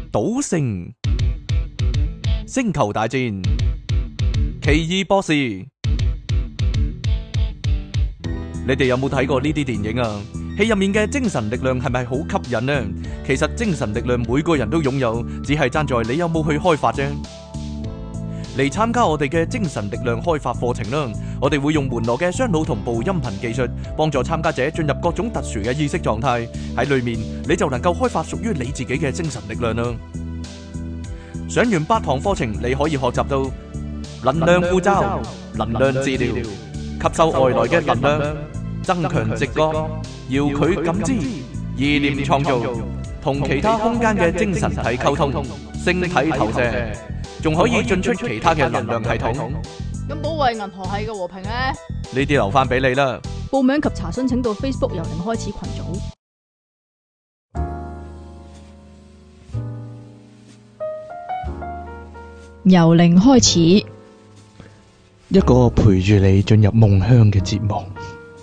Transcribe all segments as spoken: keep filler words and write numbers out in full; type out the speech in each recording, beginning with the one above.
賭聖、星球大戰、奇異博士。你哋有冇睇過呢啲電影啊？戲入面嘅精神力量係咪好吸引呢？其實精神力量每個人都擁有，只係爭在你有冇去開發啫。嚟參加我哋嘅精神力量開發課程啦！我哋會用門羅嘅雙腦同步音頻技術，幫助參加者進入各種特殊嘅意識狀態。喺裏面你就能夠開發屬於你自己嘅精神力量啦！上完八堂課程，你可以學習到能量護罩、能量治療、吸收外來嘅能量、增強直覺、遙距感知、意念創造、同其他空間嘅精神體溝通、星體投射，仲可以進出其他嘅能量系統。 咁保衛銀河系嘅和平咧？ 呢啲留翻俾你啦。 報名及查詢請到 Facebook 由零開始群組。由零開始， 一個陪住你進入夢鄉嘅節目。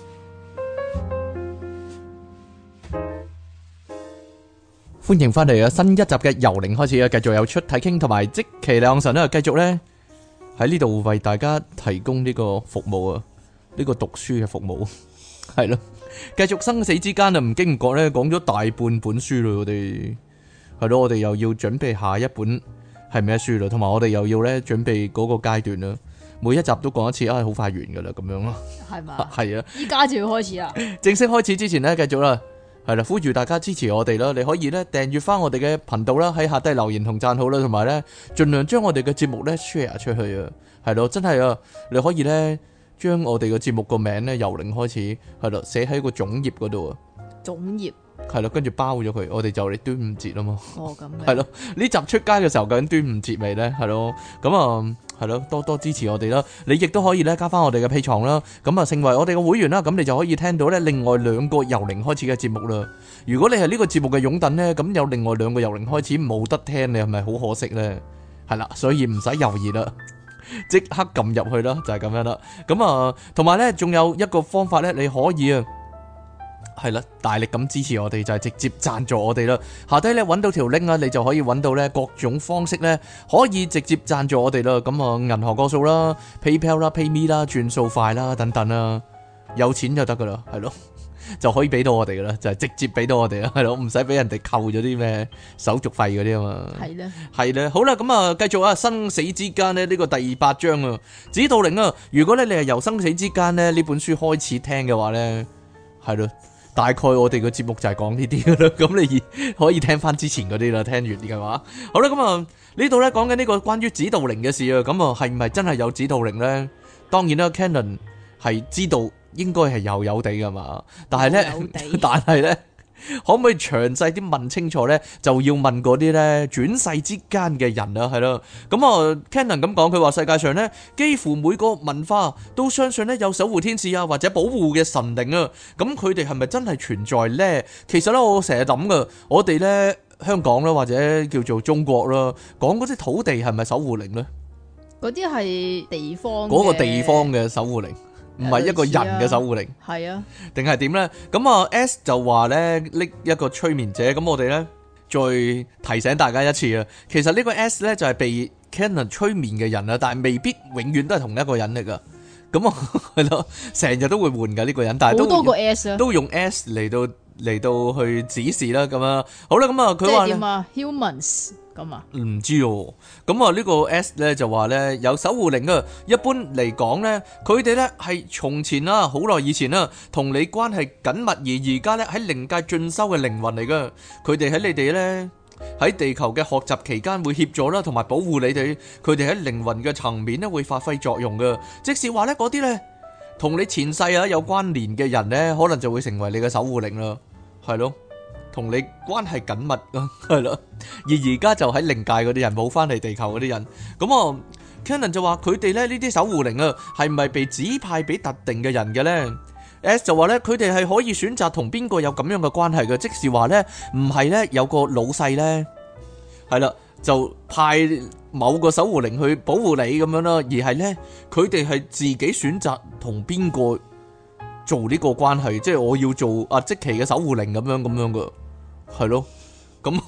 歡迎翻嚟啊！新一集嘅由零開始啊，繼續有出體傾同埋即其兩神啦，繼續咧喺呢度為大家提供呢個服務啊，呢個讀書嘅服務係咯，繼續生死之間啊，唔經唔覺咧講咗大半本書啦，我哋係咯，我哋又要準備下一本係咩書啦，同埋我哋又要咧準備嗰個階段啦，每一集都講一次啊，好快完噶啦，咁樣咯，係嘛？係啊， 依家就要開始啦， 正式開始之前咧，繼續啦。係啦，呼籲大家支持我哋啦！你可以咧訂閱翻我哋嘅頻道啦，喺下低留言同讚好啦，同埋咧盡量將我哋嘅節目咧 share 出去啊！係咯，真係啊！你可以咧將我哋嘅節目個名咧由零開始，係咯寫喺個總頁嗰度啊！ 總頁係咯，跟住包咗佢，我哋就嚟端午節啊嘛！ 哦，咁係咯，呢集出街嘅時候究竟端午節未咧？係咯，咁啊係咯，多多支持我哋啦！你亦都可以咧加翻我哋嘅 Patreon啦，咁啊成為我哋嘅會員啦，咁你就可以聽到咧另外兩個由零開始嘅節目啦。如果你係呢個節目嘅擁躉咧，咁有另外兩個由零開始冇得聽，你係咪好可惜咧？係啦，所以唔使猶豫啦，即刻撳入去啦，就係咁樣啦。咁啊，同埋咧仲有一個方法咧，你可以啊。係啦，大力咁支持我哋就係直接贊助我哋啦。下低咧揾到條 link 啊，你就可以揾到咧各種方式咧，可以直接贊助我哋啦。咁啊，銀行個數啦、PayPal 啦、PayMe 啦、轉數快啦等等啦，有錢就得噶啦，係咯，就可以俾到我哋噶啦，就係直接俾到我哋啦，係咯，唔使俾人哋扣咗啲咩手續費嗰啲啊嘛。係咧，係咧，好啦，咁啊，繼續啊，生死之間咧呢個第八章啊，指導靈啊，如果咧你係由生死之間咧呢本書開始聽嘅話咧，係咯。大概我哋個節目就係講呢啲噶啦，咁你可以聽翻之前嗰啲啦，聽完啲嘅話。好啦，咁啊呢度咧講緊呢個關於指導靈嘅事啊，咁啊係唔係真係有指導靈咧？當然啦 ，Canon 係知道應該係有有地噶嘛，但係咧，但係咧。可唔可以詳細啲問清楚咧？就要問嗰啲咧轉世之間嘅人啊，係咯。咁啊 Canon 咁講，佢話世界上咧幾乎每個文化都相信咧有守護天使啊或者保護嘅神靈啊。咁佢哋係咪真係存在咧？其實咧我成日諗噶，我哋咧香港啦或者叫做中國啦，講嗰啲土地係咪守護靈咧？嗰啲係地方嗰個地方嘅守護靈。唔係一個人嘅守護靈，係啊，定係點咧？咁啊 S 就話咧拎一個催眠者，咁我哋咧再提醒大家一次啊。其實呢個 S 咧就係被 Canon 催眠嘅人啊，但係未必永遠都係同一個人嚟噶。咁啊係咯，成日都會換噶呢個人，但係都好多個 S 啊，都用 S 嚟到嚟到去指示啦。咁啊，好啦，咁啊佢話點啊 humans。咁啊，唔知哦。咁啊，呢個 S 咧就話咧有守護靈啊。一般嚟講咧，佢哋咧係從前啦，好耐以前啦，同你關係緊密，而而家咧喺靈界進修嘅靈魂嚟噶。佢哋喺你哋咧喺地球嘅學習期間會協助啦，同埋保護你哋。佢哋喺靈魂嘅層面咧會發揮作用噶。即是話咧嗰啲咧同你前世啊有關聯嘅人咧，可能就會成為你嘅守護靈啦。係咯。同你關係緊密咯，係咯，而而家就喺靈界嗰啲人冇翻嚟地球嗰啲人，咁啊 Canon 就話佢哋咧呢啲守護靈啊，係唔係被指派俾特定嘅人嘅咧 ？S 就話咧佢哋係可以選擇同邊個有咁樣嘅關係嘅，即是話咧唔係咧有個老細咧，係啦就派某個守護靈去保護你咁樣啦，而係咧佢哋係自己選擇同邊個做呢個關係，即係我要做阿積奇嘅守護靈咁樣咁樣噶。係咯，咁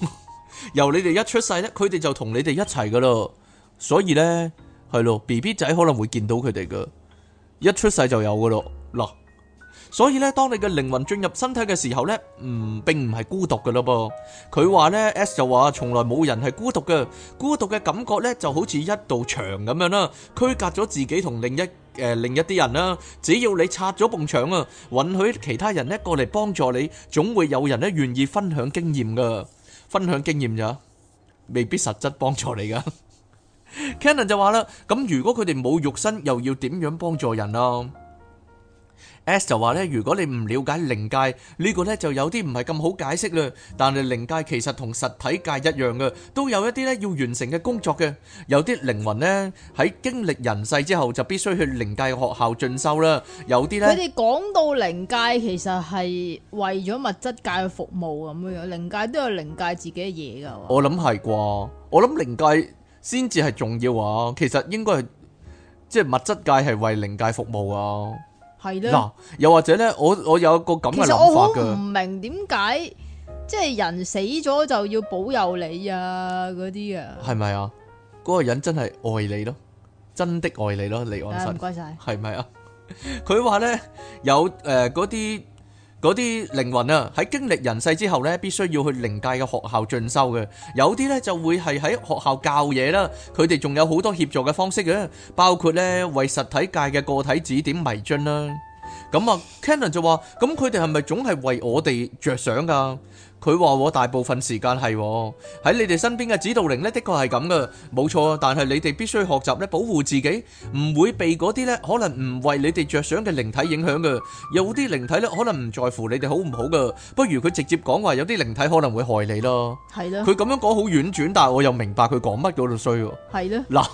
由你哋一出世咧，佢哋就同你哋一齊噶咯。所以咧，係咯 ，B B 仔可能會見到佢哋噶，一出世就有噶咯。嗱，所以咧，當你嘅靈魂進入身體嘅時候咧，唔並唔係孤獨噶咯噃。佢話咧 ，S 就話從來冇人係孤獨嘅，孤獨嘅感覺咧就好似一道牆咁樣啦，區隔咗自己同另一誒、呃、另一啲人啦。只要你拆咗埲牆啊，允許其他人咧過嚟幫助你，總會有人咧願意分享經驗噶。分享經驗咋，未必實質幫助你噶。Cannon 就話啦，咁如果佢哋冇肉身，又要點樣幫助人啊？S 就話咧，如果你唔了解靈界呢個咧，就有啲唔係咁好解釋啦。但係靈界其實同實體界一樣嘅，都有一啲咧要完成嘅工作嘅。有啲靈魂咧喺經歷人世之後，就必須去靈界嘅學校進修啦。有啲咧， 佢哋講到靈界其實係為咗物質界去服務咁樣樣，靈界都有靈界自己嘅嘢噶。 我諗係啩，我諗靈界先至係重要啊。其實應該係即係物質界係為靈界服務啊。 係咧， 嗱，又或者咧，我我有一個咁嘅其實諗法我好唔噶。 明點解即係人死咗就要保佑你啊嗰啲啊？ 係咪啊？嗰個人真係愛你咯，真的愛你咯，離岸啊唔神該晒。 係咪啊？佢話咧有誒嗰啲嗰啲靈魂啊，喺經歷人世之後咧，必須要去靈界嘅學校進修嘅。有啲咧就會係喺學校教嘢啦。佢哋仲有好多協助嘅方式嘅，包括咧為實體界嘅個體指點迷津啦。咁啊 Cannon 就話：咁佢哋係咪總係為我哋着想㗎？佢話我大部分時間係喺你哋身邊嘅指導靈呢，的確係咁噶，冇錯。但係你哋必須學習咧保護自己，唔會被嗰啲咧可能唔為你哋着想嘅靈體影響噶。有啲靈體咧可能唔在乎你哋好唔好噶，不如佢直接講話有啲靈體可能會害你咯。 係咯， 佢咁樣講好婉轉，但係我又明白佢講乜嗰度衰喎。 係咯， 嗱，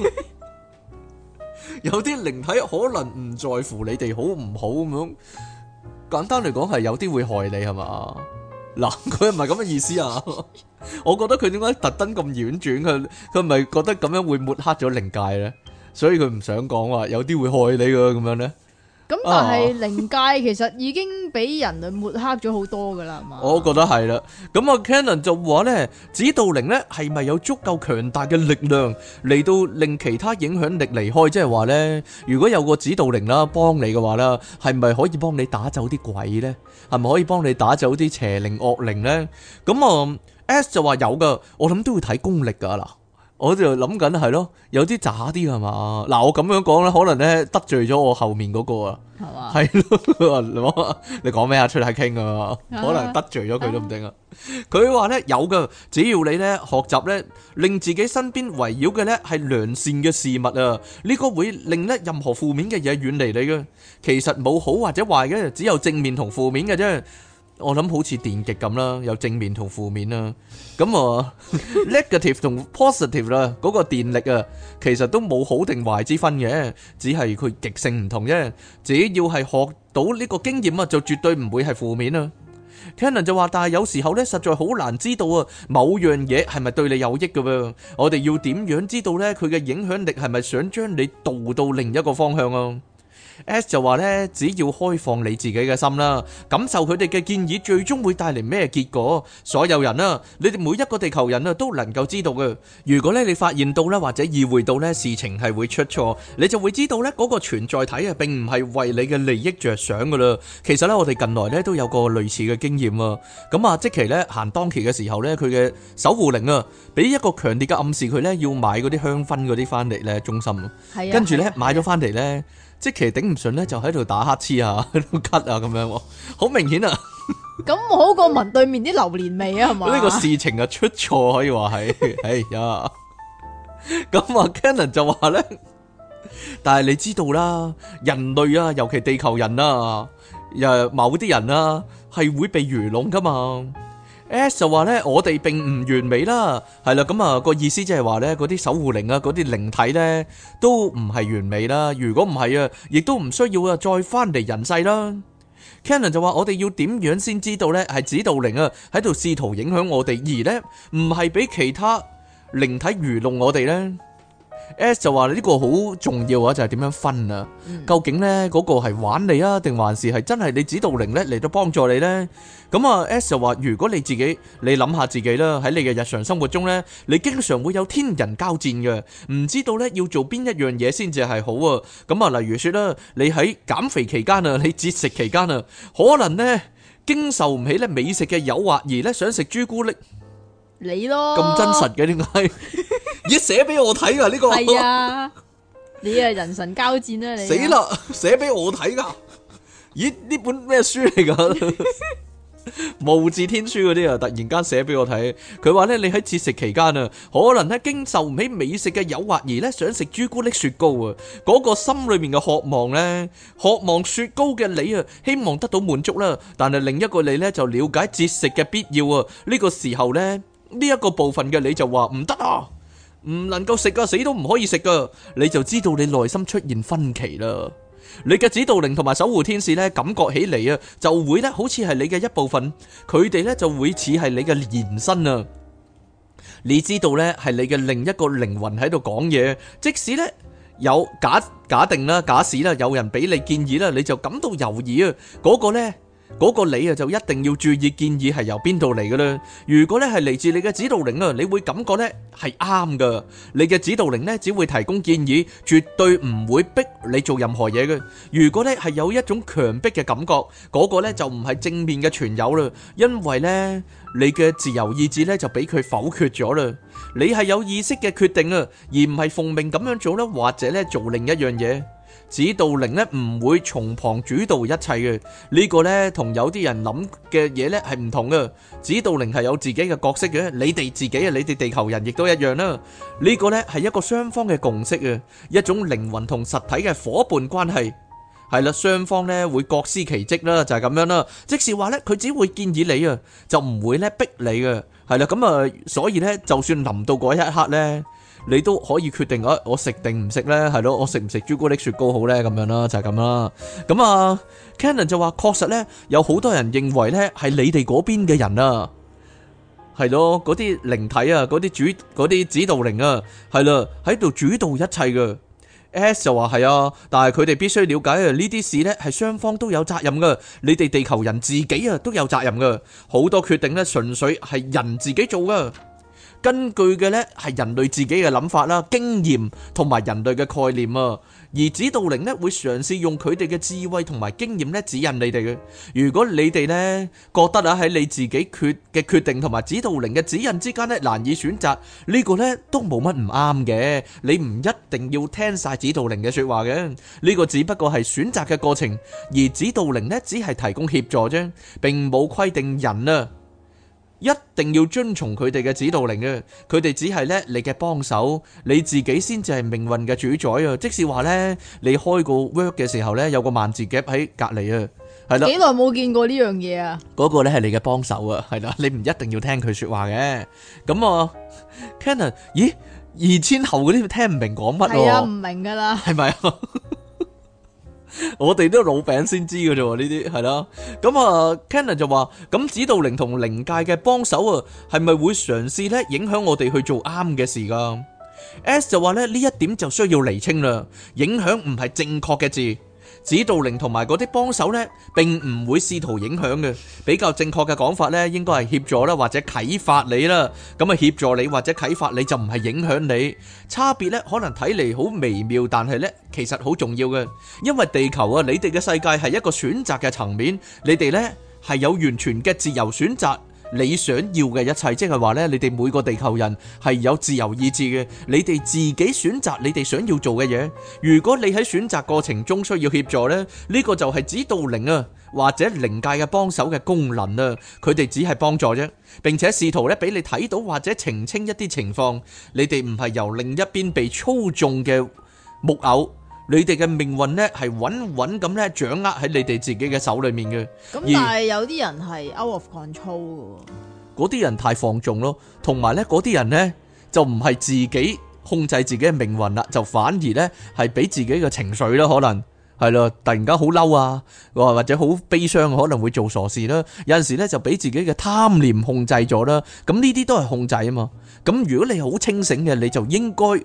有啲靈體可能唔在乎你哋好唔好咁樣，簡單嚟講係有啲會害你係嘛？嗱，佢唔係咁嘅意思啊！我覺得佢點解特登咁婉轉？佢佢係咪覺得咁樣會抹黑咗靈界咧？所以佢唔想講話有啲會害你噶咁樣咧。 咁但係靈界其實已經俾人類抹黑咗好多噶啦，係嘛？ 我覺得係啦。咁啊，Cannon 就話咧，指導靈咧係咪有足夠強大嘅力量嚟到令其他影響力離開？即係話咧，如果有個指導靈啦幫你嘅話啦，係咪可以幫你打走啲鬼咧？係咪可以幫你打走啲邪靈惡靈咧？咁啊 ，S 就話有噶，我諗都要睇功力噶嗱。我就諗緊係咯，有啲渣啲係嘛？嗱，我咁樣講咧，可能咧得罪咗我後面嗰個啊， 係嘛？ 係咯，你講咩啊？出嚟傾啊，可能得罪咗佢都唔定啊。佢話咧有噶，只要你咧學習咧，令自己身邊圍繞嘅咧係良善嘅事物啊，呢個會令咧任何負面嘅嘢遠離你嘅。其實冇好或者壞嘅，只有正面同負面嘅啫。我諗好似電極咁啦，有正面同負面啦。咁啊 ，negative 同 positive 啦，嗰個電力啊，其實都冇好定壞之分嘅，只係佢極性唔同啫。只要係學到呢個經驗啊，就絕對唔會係負面啊。Cannon 就話，但係有時候咧，實在好難知道啊，某樣嘢係咪對你有益㗎喎？我哋要點樣知道咧？佢嘅影響力係咪想將你導到另一個方向啊？S 就話咧，只要開放你自己嘅心啦，感受佢哋嘅建議，最終會帶嚟咩結果？所有人啊，你哋每一個地球人啊，都能夠知道嘅。如果咧你發現到咧，或者意會到咧事情係會出錯，你就會知道咧嗰個存在體啊，並唔係為你嘅利益着想噶啦。其實咧，我哋近來咧都有個類似嘅經驗啊。咁啊，即期咧行當期嘅時候咧，佢嘅守護靈啊，俾一個強烈嘅暗示，佢咧要買嗰啲香薰嗰啲翻嚟咧，中心。係啊。跟住咧買咗翻嚟咧。即其頂唔順咧，就喺度打乞嗤啊，喺度咳啊，咁樣，好明顯啊！ 咁好過聞對面啲榴蓮味啊，係嘛？ 呢個事情啊出錯可以話係，哎呀！咁啊 Cannon 就話咧，但係你知道啦，人類啊，尤其地球人啊，誒某啲人啊，係會被愚弄噶嘛。S 就話咧，我哋並唔完美啦，係啦，咁啊個意思即係話咧，嗰啲守護靈啊，嗰啲靈體咧，都唔係完美啦。如果唔係啊，亦都唔需要啊，再翻嚟人世啦。Cannon 就話，我哋要點樣先知道咧，係指導靈啊喺度試圖影響我哋，而咧唔係俾其他靈體愚弄我哋咧。 S 就話呢個好重要啊，就係點樣分啊？ 嗯究竟呢嗰個係玩你啊，定還是係真係你指導靈呢嚟到幫助你呢？咁啊 S 就話如果你自己你諗下自己啦，喺你嘅日常生活中呢，你經常會有天人交戰嘅，唔知道呢要做邊一樣嘢先至係好啊。咁啊，例如說啦，你喺減肥期間啊，你節食期間啊，可能呢經受唔起咧美食嘅誘惑而咧想食朱古力。 你咯， 咁真實嘅點解？咦，寫俾我睇噶呢個？ 係啊，你啊人神交戰啦你。 死啦！寫俾我睇噶。咦，呢本咩書嚟噶？無字天書嗰啲啊，突然間寫俾我睇。佢話咧，你喺節食期間啊，可能咧經受唔起美食嘅誘惑而咧想食朱古力雪糕啊。嗰個心裏面嘅渴望咧，渴望雪糕嘅你啊，希望得到滿足啦。但係另一個你咧就了解節食嘅必要啊。呢個時候咧，呢一個部分嘅你就話唔得啊，唔能夠食啊，死都唔可以食噶。你就知道你內心出現分歧啦。你嘅指導靈同埋守護天使咧，感覺起嚟啊，就會咧好似係你嘅一部分，佢哋咧就會似係你嘅延伸啊。你知道咧係你嘅另一個靈魂喺度講嘢，即使咧有假假定啦、假使啦，有人俾你建議啦，你就感到猶豫啊，嗰個咧。嗰個你啊就一定要注意建議係由邊度嚟嘅啦。如果咧係嚟自你嘅指導靈啊，你會感覺咧係啱噶。你嘅指導靈咧只會提供建議，絕對唔會逼你做任何嘢嘅。如果咧係有一種強迫嘅感覺，嗰個咧就唔係正面嘅存有啦，因為咧你嘅自由意志咧就俾佢否決咗啦。你係有意識嘅決定啊，而唔係奉命咁樣做啦，或者咧做另一樣嘢。指導靈咧唔會從旁主導一切嘅，呢個咧同有啲人諗嘅嘢咧係唔同嘅。指導靈係有自己嘅角色嘅，你哋自己啊，你哋地球人亦都一樣啦。呢個咧係一個雙方嘅共識啊，一種靈魂同實體嘅夥伴關係。係啦，雙方咧會各司其職啦，就係咁樣啦。即是話咧，佢只會建議你啊，就唔會咧逼你嘅。係啦，咁啊，所以咧，就算臨到嗰一刻咧，你都可以決定啊，我食定唔食咧？係咯，我食唔食朱古力雪糕好咧？咁樣啦，就係咁啦。咁啊 Cannon 就話，確實咧，有好多人認為咧係你哋嗰邊嘅人啊，係咯，嗰啲靈體啊，嗰啲主嗰啲指導靈啊，係啦，喺度主導一切嘅。S 就話係啊，但係佢哋必須了解啊，呢啲事咧係雙方都有責任噶，你哋地球人自己啊都有責任噶，好多決定咧純粹係人自己做噶。根據嘅呢係人類自己嘅諗法啦、經驗同埋人類嘅概念啊，而指導靈呢會嘗試用佢哋嘅智慧同埋經驗呢指引你哋嘅。如果你哋呢覺得啊喺你自己決嘅決定同埋指導靈嘅指引之間呢難以選擇，呢個呢都冇乜唔啱嘅。你唔一定要聽晒指導靈嘅說話嘅，呢個只不過係選擇嘅過程，而指導靈呢只係提供協助啫，並冇規定人啊一定要遵從佢哋嘅指導靈嘅，佢哋只係咧你嘅幫手，你自己先至係命運嘅主宰啊！即是話咧，你開個 work 嘅時候咧，有個萬字夾喺隔籬啊，係啦。 幾耐冇見過呢樣嘢啊？ 嗰個咧係你嘅幫手啊，係啦，你唔一定要聽佢說話嘅。咁啊 Cannon，咦，二千後嗰啲聽唔明講乜？ 係啊，唔明噶啦， 係咪啊？我哋都老餅先知嘅啫，呢啲係啦。咁啊 Cannon 就話，咁指導靈同靈界嘅幫手啊，係咪會嘗試咧影響我哋去做啱嘅事噶 ？S 就話咧，呢一點就需要釐清啦。影響唔係正確嘅字，指導靈同埋嗰啲幫手咧，並唔會試圖影響嘅。比較正確嘅講法咧，應該係協助啦，或者啟發你啦。咁啊，協助你或者啟發你就唔係影響你。差別咧，可能睇嚟好微妙，但係咧，其實好重要嘅。因為地球啊，你哋嘅世界係一個選擇嘅層面，你哋咧係有完全嘅自由選擇你想要嘅一切，即係話咧，你哋每個地球人係有自由意志嘅，你哋自己選擇你哋想要做嘅嘢。如果你喺選擇過程中需要協助咧，呢個就係指導靈啊或者靈界嘅幫手嘅功能啊，佢哋只係幫助啫，並且試圖咧俾你睇到或者澄清一啲情況。你哋唔係由另一邊被操縱嘅木偶。你哋嘅命運咧係穩穩咁咧掌握喺你哋自己嘅手裏面嘅。 咁但係有啲人係 out of control 嘅。 嗰啲人太放縱咯，同埋咧嗰啲人咧就唔係自己控制自己嘅命運啦，就反而咧係俾自己嘅情緒啦，可能係咯，突然間好嬲啊，或者好悲傷，可能會做傻事啦。有陣時咧就俾自己嘅貪念控制咗啦。咁呢啲都係控制啊嘛。咁如果你好清醒嘅，你就應該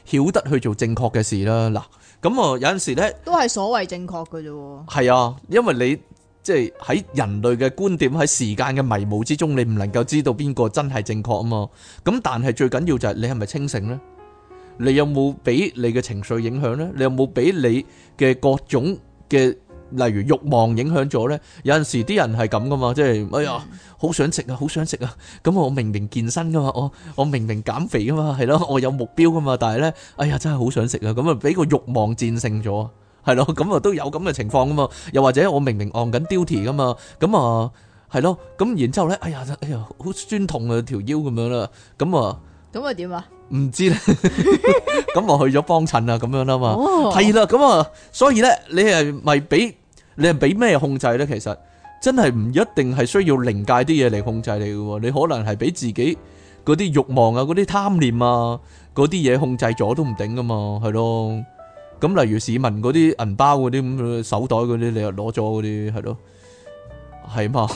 曉得去做正確嘅事啦。嗱，咁啊有陣時咧都係所謂正確嘅啫喎。 係啊，因為你即係喺人類嘅觀點喺時間嘅迷霧之中，你唔能夠知道邊個真係正確啊嘛。咁但係最緊要就係你係咪清醒呢？你有冇俾你嘅情緒影響呢？你有冇俾你嘅各種嘅例如慾望影響咗呢？有陣時啲人係咁噶嘛，即係哎呀好想食啊，好想食啊！咁我明明健身噶嘛，我我明明減肥噶嘛，係咯，我有目標噶嘛，但係呢，哎呀真係好想食啊！咁啊俾個慾望戰勝咗，係咯，咁啊都有咁嘅情況噶嘛。又或者我明明按緊 duty 噶嘛，咁啊係咯，咁然之後呢，哎呀哎呀好酸痛啊條腰咁樣啦，咁啊咁啊點啊？ 唔知咧，咁我去咗幫襯啊，咁樣啦嘛， 哦係啦，咁啊，所以咧，你係咪俾你係俾咩控制咧？其實真係唔一定係需要靈界啲嘢嚟控制你嘅，你可能係俾自己嗰啲慾望啊、嗰啲貪念啊、嗰啲嘢控制咗都唔定噶嘛，係咯。咁例如市民嗰啲銀包嗰啲咁手袋嗰啲，你又攞咗嗰啲，係咯，係嘛。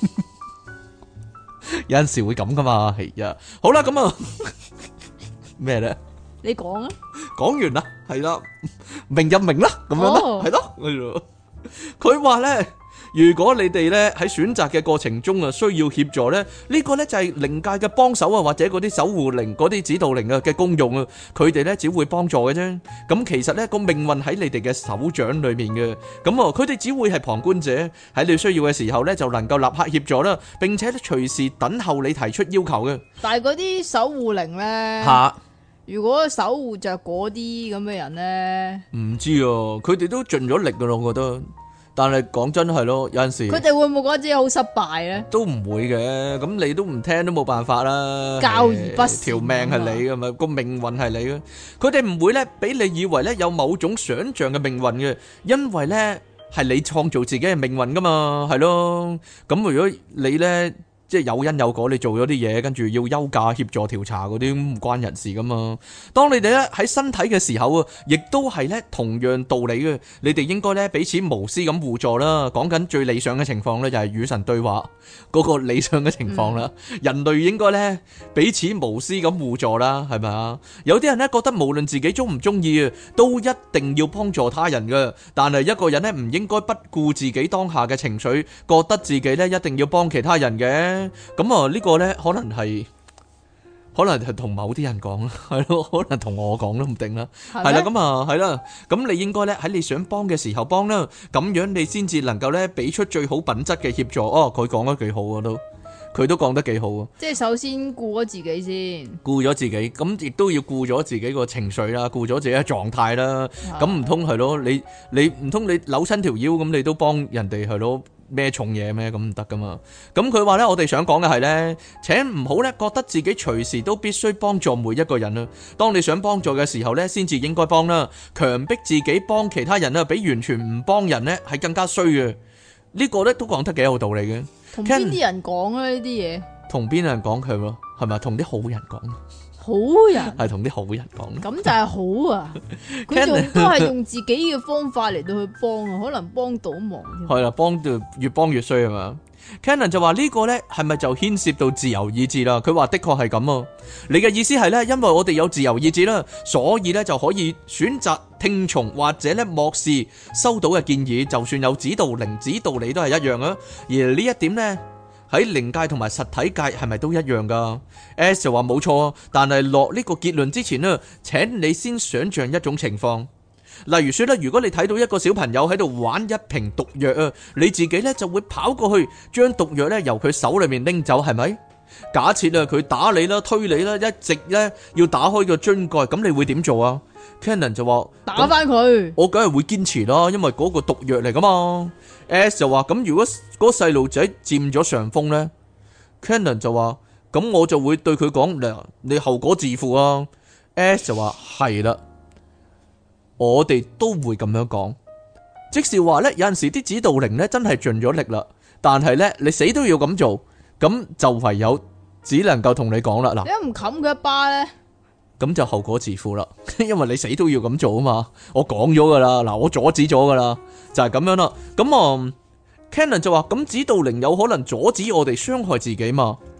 有陣時會咁噶嘛，係啊。好啦，咁啊。咩咧？ 你講啊！ 講完啦，係啦，明就明啦，咁樣啦，係咯。佢話咧，如果你哋咧喺選擇嘅過程中啊，需要協助咧，呢個咧就係靈界嘅幫手啊，或者嗰啲守護靈、嗰啲指導靈啊嘅功用啊，佢哋咧只會幫助嘅啫。咁其實咧個命運喺你哋嘅手掌裏面嘅，咁啊佢哋只會係旁觀者，喺你需要嘅時候咧就能夠立刻協助啦，並且咧隨時等候你提出要求嘅。 但係嗰啲守護靈咧， 吓。 如果守護着嗰啲咁嘅人咧， 唔知啊，佢哋都盡咗力噶咯，我覺得。但係講真係咯，有陣時佢哋會唔會覺得自己好失敗咧？ 都唔會嘅，咁你都唔聽都冇辦法啦。 教而不善， 條命係你噶嘛，個命運係你嘅。佢哋唔會咧俾你以為咧有某種想象嘅命運嘅，因為咧係你創造自己嘅命運噶嘛，係咯。咁如果你咧。即係有因有果，你做咗啲嘢，跟住要休假協助調查嗰啲，唔關人事噶嘛。當你哋咧喺身體嘅時候啊，亦都係咧同樣道理嘅。你哋應該咧彼此無私咁互助啦。講緊最理想嘅情況咧，就係與神對話嗰個理想嘅情況啦。嗯、人類應該咧彼此無私咁互助啦，係咪啊？有啲人咧覺得無論自己中唔中意啊，都一定要幫助他人嘅。但係一個人咧唔應該不顧自己當下嘅情緒，覺得自己咧一定要幫其他人嘅。咁啊，呢個咧可能係，可能係同某啲人講啦，係咯，可能同我講都唔定啦，係啦，咁啊，係啦，咁你應該咧喺你想幫嘅時候幫啦，咁樣你先至能夠咧俾出最好品質嘅協助。哦，佢講得幾好啊，都，佢都講得幾好啊。即係首先顧咗自己先， 顧咗自己，咁亦都要顧咗自己個情緒啦，顧咗自己嘅狀態啦。咁唔通係咯？你你唔通你扭親條腰咁，你都幫人哋係咯？咩重嘢咩咁唔得噶嘛？咁佢話咧，我哋想講嘅係咧，請唔好咧覺得自己隨時都必須幫助每一個人啦。當你想幫助嘅時候咧，先至應該幫啦。強迫自己幫其他人啦，比完全唔幫人咧係更加衰嘅。呢個咧都講得幾有道理嘅。 同邊啲人講啊？呢啲嘢同邊人講佢咯？係咪同啲好人講？ 好人係同啲好人講， 咁就係好啊！佢仲都係用自己嘅方法嚟到去幫啊，可能幫倒忙添。 係啦，幫到越幫越衰啊嘛。Cannon 就話呢個呢係咪就牽涉到自由意志啦？佢話的確係咁啊。你嘅意思係呢，因為我哋有自由意志啦，所以呢就可以選擇聽從或者呢漠視收到嘅建議，就算有指導靈指導你都係一樣啊。而呢一點呢，喺靈界同埋實體界係咪都一樣噶 ？S 就話冇錯，但係落呢個結論之前呢，請你先想象一種情況，例如說咧，如果你睇到一個小朋友喺度玩一瓶毒藥啊，你自己呢就會跑過去將毒藥呢由佢手裏面拎走，係咪？假設啊，佢打你啦、推你啦，一直呢要打開個樽蓋，咁你會點做啊 ？Cannon 就話打翻佢， 我梗係會堅持啦，因為嗰個毒藥嚟噶嘛。S 就話咁，如果嗰個細路仔佔咗上風呢 Cannon 就話咁，我就會對佢講，嗱，你後果自負啊。S 就話係啦，我哋都會咁樣講，即是話呢，有陣時啲指導靈呢真係盡咗力啦，但係呢，你死都要咁做，咁就唯有只能夠同你講啦。嗱， 你唔冚佢一巴呢？ 咁就後果自負啦，因為你死都要咁做啊嘛，我講咗噶啦，嗱，我阻止咗噶啦，就係咁樣啦。咁啊 Cannon 就話咁指導靈有可能阻止我哋傷害自己嘛？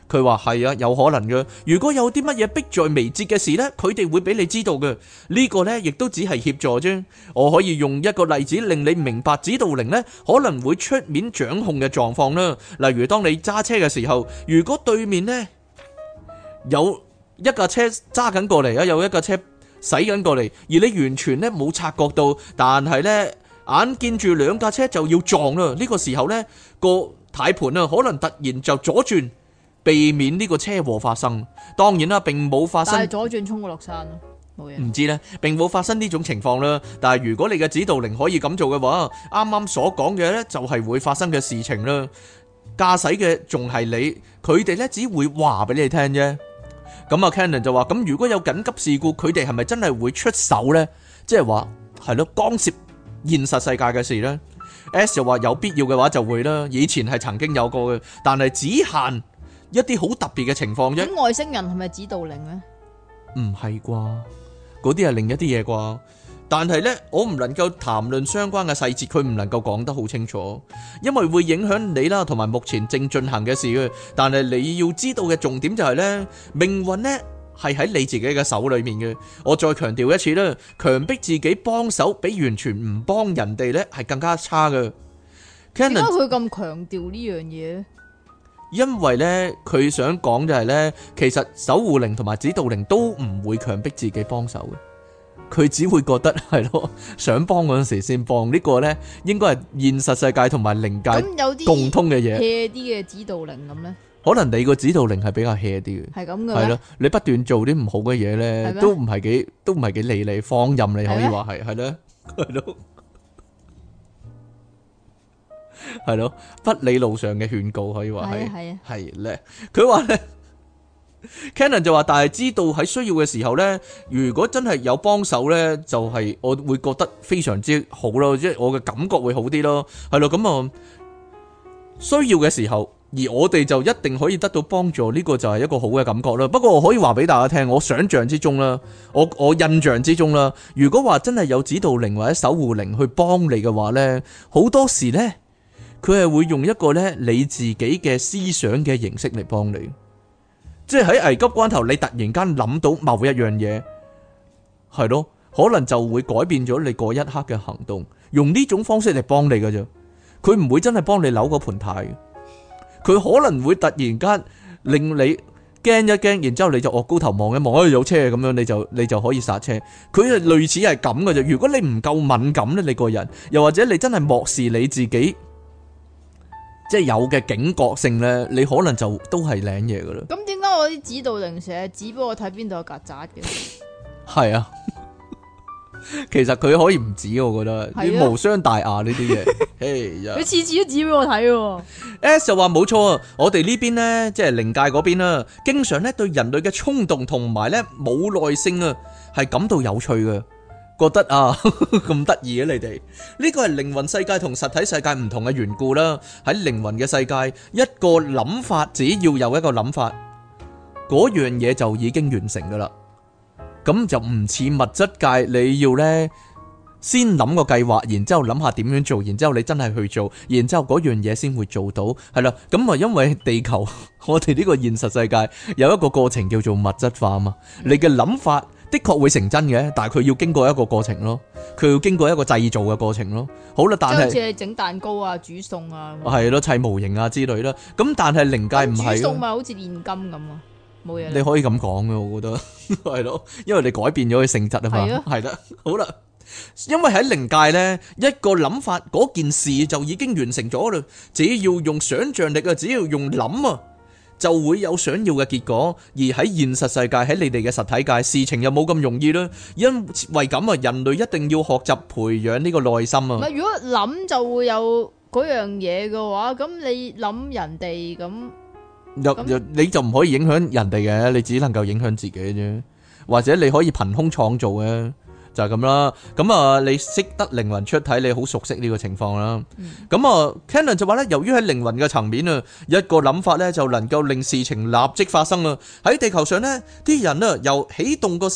佢話係啊，有可能嘅。如果有啲乜嘢迫在眉睫嘅事呢，佢哋會俾你知道嘅。呢個呢，亦都只係協助啫。我可以用一個例子令你明白指導靈呢可能會出面掌控嘅狀況啦。例如當你揸車嘅時候，如果對面呢有一架車揸緊過嚟啊，有一架車駛緊過嚟，而你完全呢冇察覺到，但係呢眼見住兩架車就要撞啦。呢個時候呢個軚盤啊，可能突然就左轉，避免呢個車禍發生。當然啦，並冇發生。 但係左轉衝過落山咯，冇嘢。 唔知呢，並冇發生呢種情況啦。但係如果你嘅指導靈可以咁做嘅話，啱啱所講嘅呢就係會發生嘅事情啦。駕駛嘅仲係你，佢哋呢只會話俾你聽啫。咁啊 Cannon 就話：咁如果有緊急事故，佢哋係咪真係會出手呢？即係話係咯，干涉現實世界嘅事呢。S 就話有必要嘅話就會啦，以前係曾經有過嘅，但係只限一啲好特別嘅情況啫。 咁外星人係咪指導靈呢？ 唔係啩？嗰啲係另一啲嘢啩？但係呢，我唔能夠談論相關嘅細節，佢唔能夠講得好清楚，因為會影響你啦，同埋目前正進行嘅事嘅。但係你要知道嘅重點就係呢，命運呢係喺你自己嘅手裏面嘅。我再強調一次啦，強迫自己幫手，比完全唔幫人哋呢係更加差嘅。 點解佢咁強調呢樣嘢？ 因為呢，佢想講就係呢，其實守護靈同埋指導靈都唔會強迫自己幫手嘅。佢只會覺得係咯，想幫嗰陣時先幫。呢個呢應該係現實世界同埋靈界共通嘅嘢。 hea 啲嘅指導靈咁呢？ 可能你個指導靈係比較 hea 啲嘅， 係咁嘅。 係咯，你不斷做啲唔好嘅嘢呢，都唔係幾都唔係幾理你，放任你可以話係係咯，係咯，係咯，不理路上嘅勸告可以話係係啊係咧。佢話呢。Cannon 就話，但係知道喺需要嘅時候呢，如果真係有幫手呢，就係、是、我會覺得非常之好咯，即係我嘅感覺會好啲咯，係咯，咁啊需要嘅時候，而我哋就一定可以得到幫助，呢、這個就係一個好嘅感覺啦。不過我可以話俾大家聽，我想象之中啦，我我印象之中啦，如果話真係有指導靈或者守護靈去幫你嘅話呢，好多時呢，佢係會用一個呢你自己嘅思想嘅形式嚟幫你。即係喺危急關頭，你突然間諗到某一樣嘢，係咯，可能就會改變咗你嗰一刻嘅行動，用呢種方式嚟幫你㗎啫。佢唔會真係幫你扭嗰盤軚，佢可能會突然間令你驚一驚，然之後你就惡高頭望一望，哎有車咁樣，你就你就可以剎車。佢係類似係咁㗎啫。如果你唔夠敏感咧，你個人又或者你真係漠視你自己。即係有嘅警覺性咧，你可能就都係領嘢噶啦。咁點解我啲指導靈成日指俾我睇邊度有曱甴嘅？ 係啊，其實佢可以唔指，我覺得啲無傷大雅呢啲嘢。 佢次次都指俾我睇喎。 S 就話冇錯啊，我哋呢邊呢，即係靈界嗰邊啦，經常咧對人類嘅衝動同埋咧冇耐性啊，係感到有趣嘅。覺得啊咁得意嘅你哋，呢個係靈魂世界同實體世界唔同嘅緣故啦。喺靈魂嘅世界，一個諗法只要有一個諗法，嗰樣嘢就已經完成噶啦。咁就唔似物質界，你要呢先諗個計劃，然之後諗下點樣做，然之後你真係去做，然之後嗰樣嘢先會做到，係啦。咁啊，因為地球我哋呢個現實世界有一個過程叫做物質化啊嘛，你嘅諗法。的確會成真嘅，但係佢要經過一個過程咯，佢要經過一個製造嘅過程咯。好啦，但係即係好似你整蛋糕啊、煮餸啊， 係咯，砌模型啊之類啦。咁但係靈界唔係， 煮餸咪好似煉金咁啊，冇嘢。 你可以咁講嘅，我覺得係咯，因為你改變咗佢性質啊嘛。係啦，好啦，因為喺靈界呢，一個諗法嗰件事就已經完成咗啦，只要用想象力啊，只要用諗啊。就會有想要嘅結果，而喺現實世界，喺你哋嘅實體界，事情又冇咁容易啦。因為咁啊，人類一定要學習培養呢個耐心啊。 如果諗就會有嗰樣嘢嘅話，咁你諗人哋咁， 又你就唔可以影響人哋嘅，你只能夠影響自己啫。或者你可以憑空創造嘅。就係咁啦，咁啊，你識得靈魂出體，你好熟悉呢個情況啦。咁啊 Cannon 就話咧，由於喺靈魂嘅層面啊，一個諗法咧就能夠令事情立即發生啊。喺地球上咧，啲人啊由起動個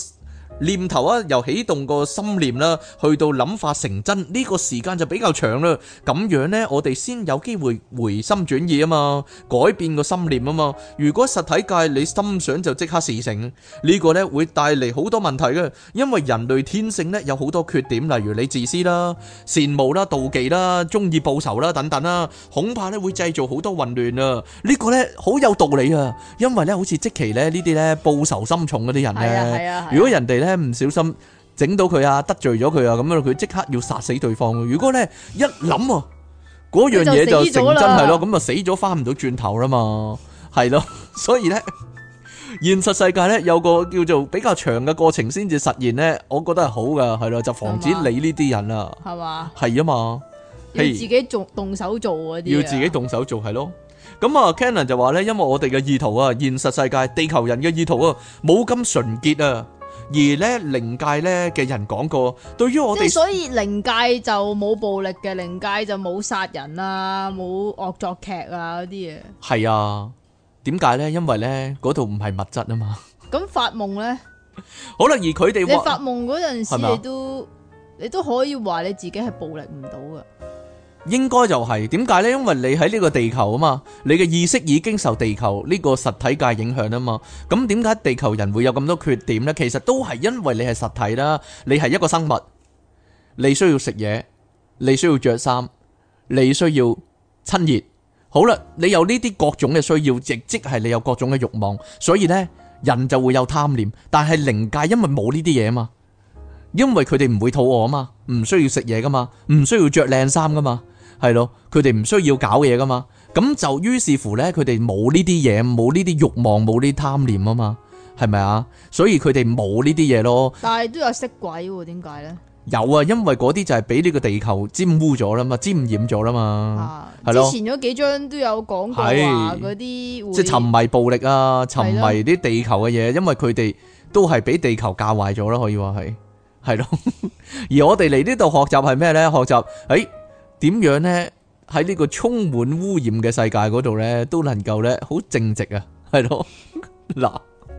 念頭啊，由起動個心念啦，去到諗法成真，呢個時間就比較長啦。咁樣呢，我哋先有機會回心轉意啊嘛，改變個心念啊嘛。如果實體界你心想就即刻事成，呢個呢會帶嚟好多問題嘅，因為人類天性呢有好多缺點，例如你自私啦、羨慕啦、妒忌啦、中意報仇啦等等啦，恐怕呢會製造好多混亂啊。呢個呢好有道理啊，因為呢好似即其呢呢啲呢報仇心重嗰啲人呢，如果人哋呢唔小心整到佢啊，得罪咗佢啊，咁樣佢即刻要殺死對方。如果咧一諗啊，嗰樣嘢就成真係咯，咁啊死咗翻唔到轉頭啦嘛，係咯。所以咧，現實世界咧有個叫做比較長嘅過程先至實現咧，我覺得係好噶，係咯，就防止你呢啲人啊，係嘛，係啊嘛， 要自己做動手做嗰啲， 要自己動手做係咯。咁啊 Cannon 就話咧，因為我哋嘅意圖啊，現實世界地球人嘅意圖啊，冇咁純潔啊。而咧靈界咧嘅人講過，對於我哋， 即係所以靈界就冇暴力嘅，靈界就冇殺人啊，冇惡作劇啊嗰啲嘢。 係啊，點解咧？因為咧嗰度唔係物質啊嘛。 咁發夢咧？ 好啦，而佢哋你發夢嗰陣時，你都你都可以話你自己係暴力唔到噶。 應該就係點解呢？因為你喺呢個地球啊嘛，你嘅意識已經受地球呢個實體界影響啊嘛。咁點解地球人會有咁多缺點呢？其實都係因為你係實體啦，你係一個生物，你需要食嘢，你需要着衫，你需要親熱。好啦，你有呢啲各種嘅需要，亦即係你有各種嘅慾望，所以呢，人就會有貪念。但係靈界因為冇呢啲嘢啊嘛，因為佢哋唔會肚餓啊嘛，唔需要食嘢噶嘛，唔需要着靚衫噶嘛。係咯，佢哋唔需要搞嘢噶嘛，咁就於是乎呢，佢哋冇呢啲嘢，冇呢啲慾望，冇呢啲貪念啊嘛，係咪啊？所以佢哋冇呢啲嘢咯。 但係都有色鬼喎，點解呢？ 有啊，因為嗰啲就係俾呢個地球沾污咗啦嘛，沾染咗啦嘛。係咯， 之前嗰幾章都有講過話嗰啲，即係沉迷暴力啊，沉迷啲地球嘅嘢，因為佢哋都係俾地球教壞咗啦，可以話係，係咯。而我哋嚟呢度學習係咩呢？學習誒。點樣呢？喺呢個充滿污染嘅世界嗰度呢，都能夠呢好正直啊，係咯嗱。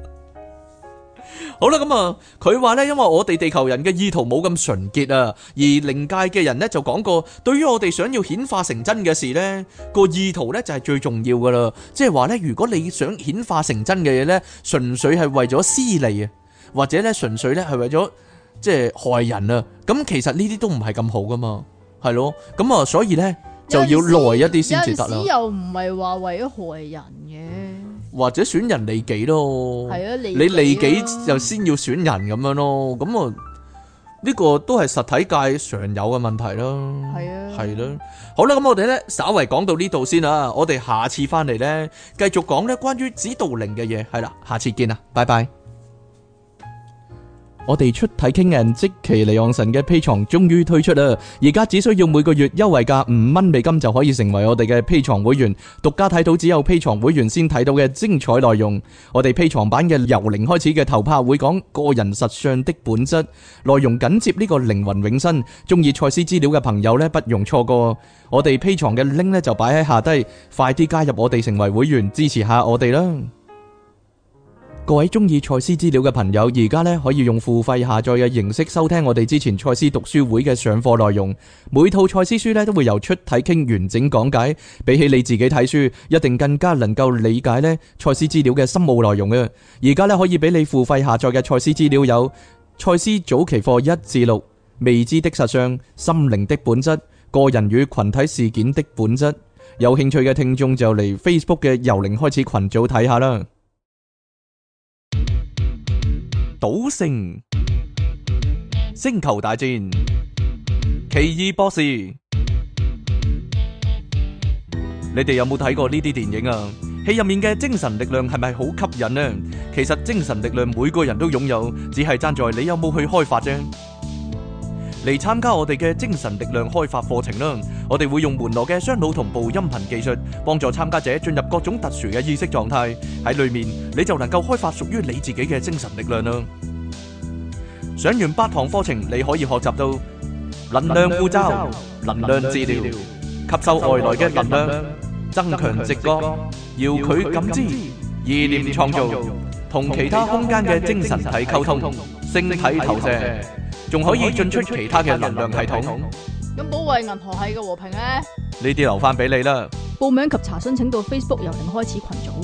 好啦，咁啊，佢話呢，因為我哋地球人嘅意圖冇咁純潔啊，而靈界嘅人呢就講過，對於我哋想要顯化成真嘅事呢，個意圖呢就係最重要噶啦。即係話呢，如果你想顯化成真嘅嘢呢，純粹係為咗私利啊，或者呢純粹呢係為咗即係害人啊，咁其實呢啲都唔係咁好噶嘛。係咯，咁啊，所以咧就要耐一啲先至得啦。有陣時又唔係話為咗害人嘅，或者損人利己咯。係啊，你利己就先要損人咁樣咯。咁啊，呢個都係實體界常有嘅問題咯。係啊，係咯。好啦，咁我哋咧稍為講到呢度先啦。我哋下次翻嚟咧繼續講咧關於指導靈嘅嘢。係啦，下次見啦，拜拜。我哋出體傾人即其離岸神嘅 Patreon終於推出啦！而家只需要每個月優惠價五蚊美金就可以成為我哋嘅 Patreon會員，獨家睇到只有 Patreon會員先睇到嘅精彩內容。我哋 Patreon版嘅由零開始嘅頭拍會講個人實相的本質，內容緊接呢個靈魂永生。中意賽斯資料嘅朋友呢，不容錯過。我哋 Patreon嘅 link 呢就擺喺下低，快啲加入我哋成為會員，支持下我哋啦！各位中意賽斯資料嘅朋友，而家咧可以用付費下載嘅形式收聽我哋之前賽斯讀書會嘅上課內容。每套賽斯書咧都會由出體傾完整講解，比起你自己睇書，一定更加能夠理解咧賽斯資料嘅深奧內容啊！而家咧可以俾你付費下載嘅賽斯資料有賽斯早期課一至六、未知的實相、心靈的本質、個人與群體事件的本質。有興趣嘅聽眾就嚟 Facebook 嘅由零開始群組睇下啦。賭聖、星球大戰、奇異博士，你哋有冇睇過呢啲電影啊？戲入面嘅精神力量係咪好吸引呢？其實精神力量每個人都擁有，只係爭在你有冇去開發啫。嚟參加我哋嘅精神力量開發課程啦！我哋會用門羅嘅雙腦同步音頻技術，幫助參加者進入各種特殊嘅意識狀態。喺裏面你就能夠開發屬於你自己嘅精神力量啦！上完八堂課程，你可以學習到能量護罩、能量治療、吸收外來嘅能量、增強直覺、遙距感知、意念創造、同其他空間嘅精神體溝通、 星體投射，仲可以進出其他嘅能量系統。 咁保衛銀河系嘅和平咧？ 呢啲留翻俾你啦。 報名及查詢請到 Facebook 由零開始群組。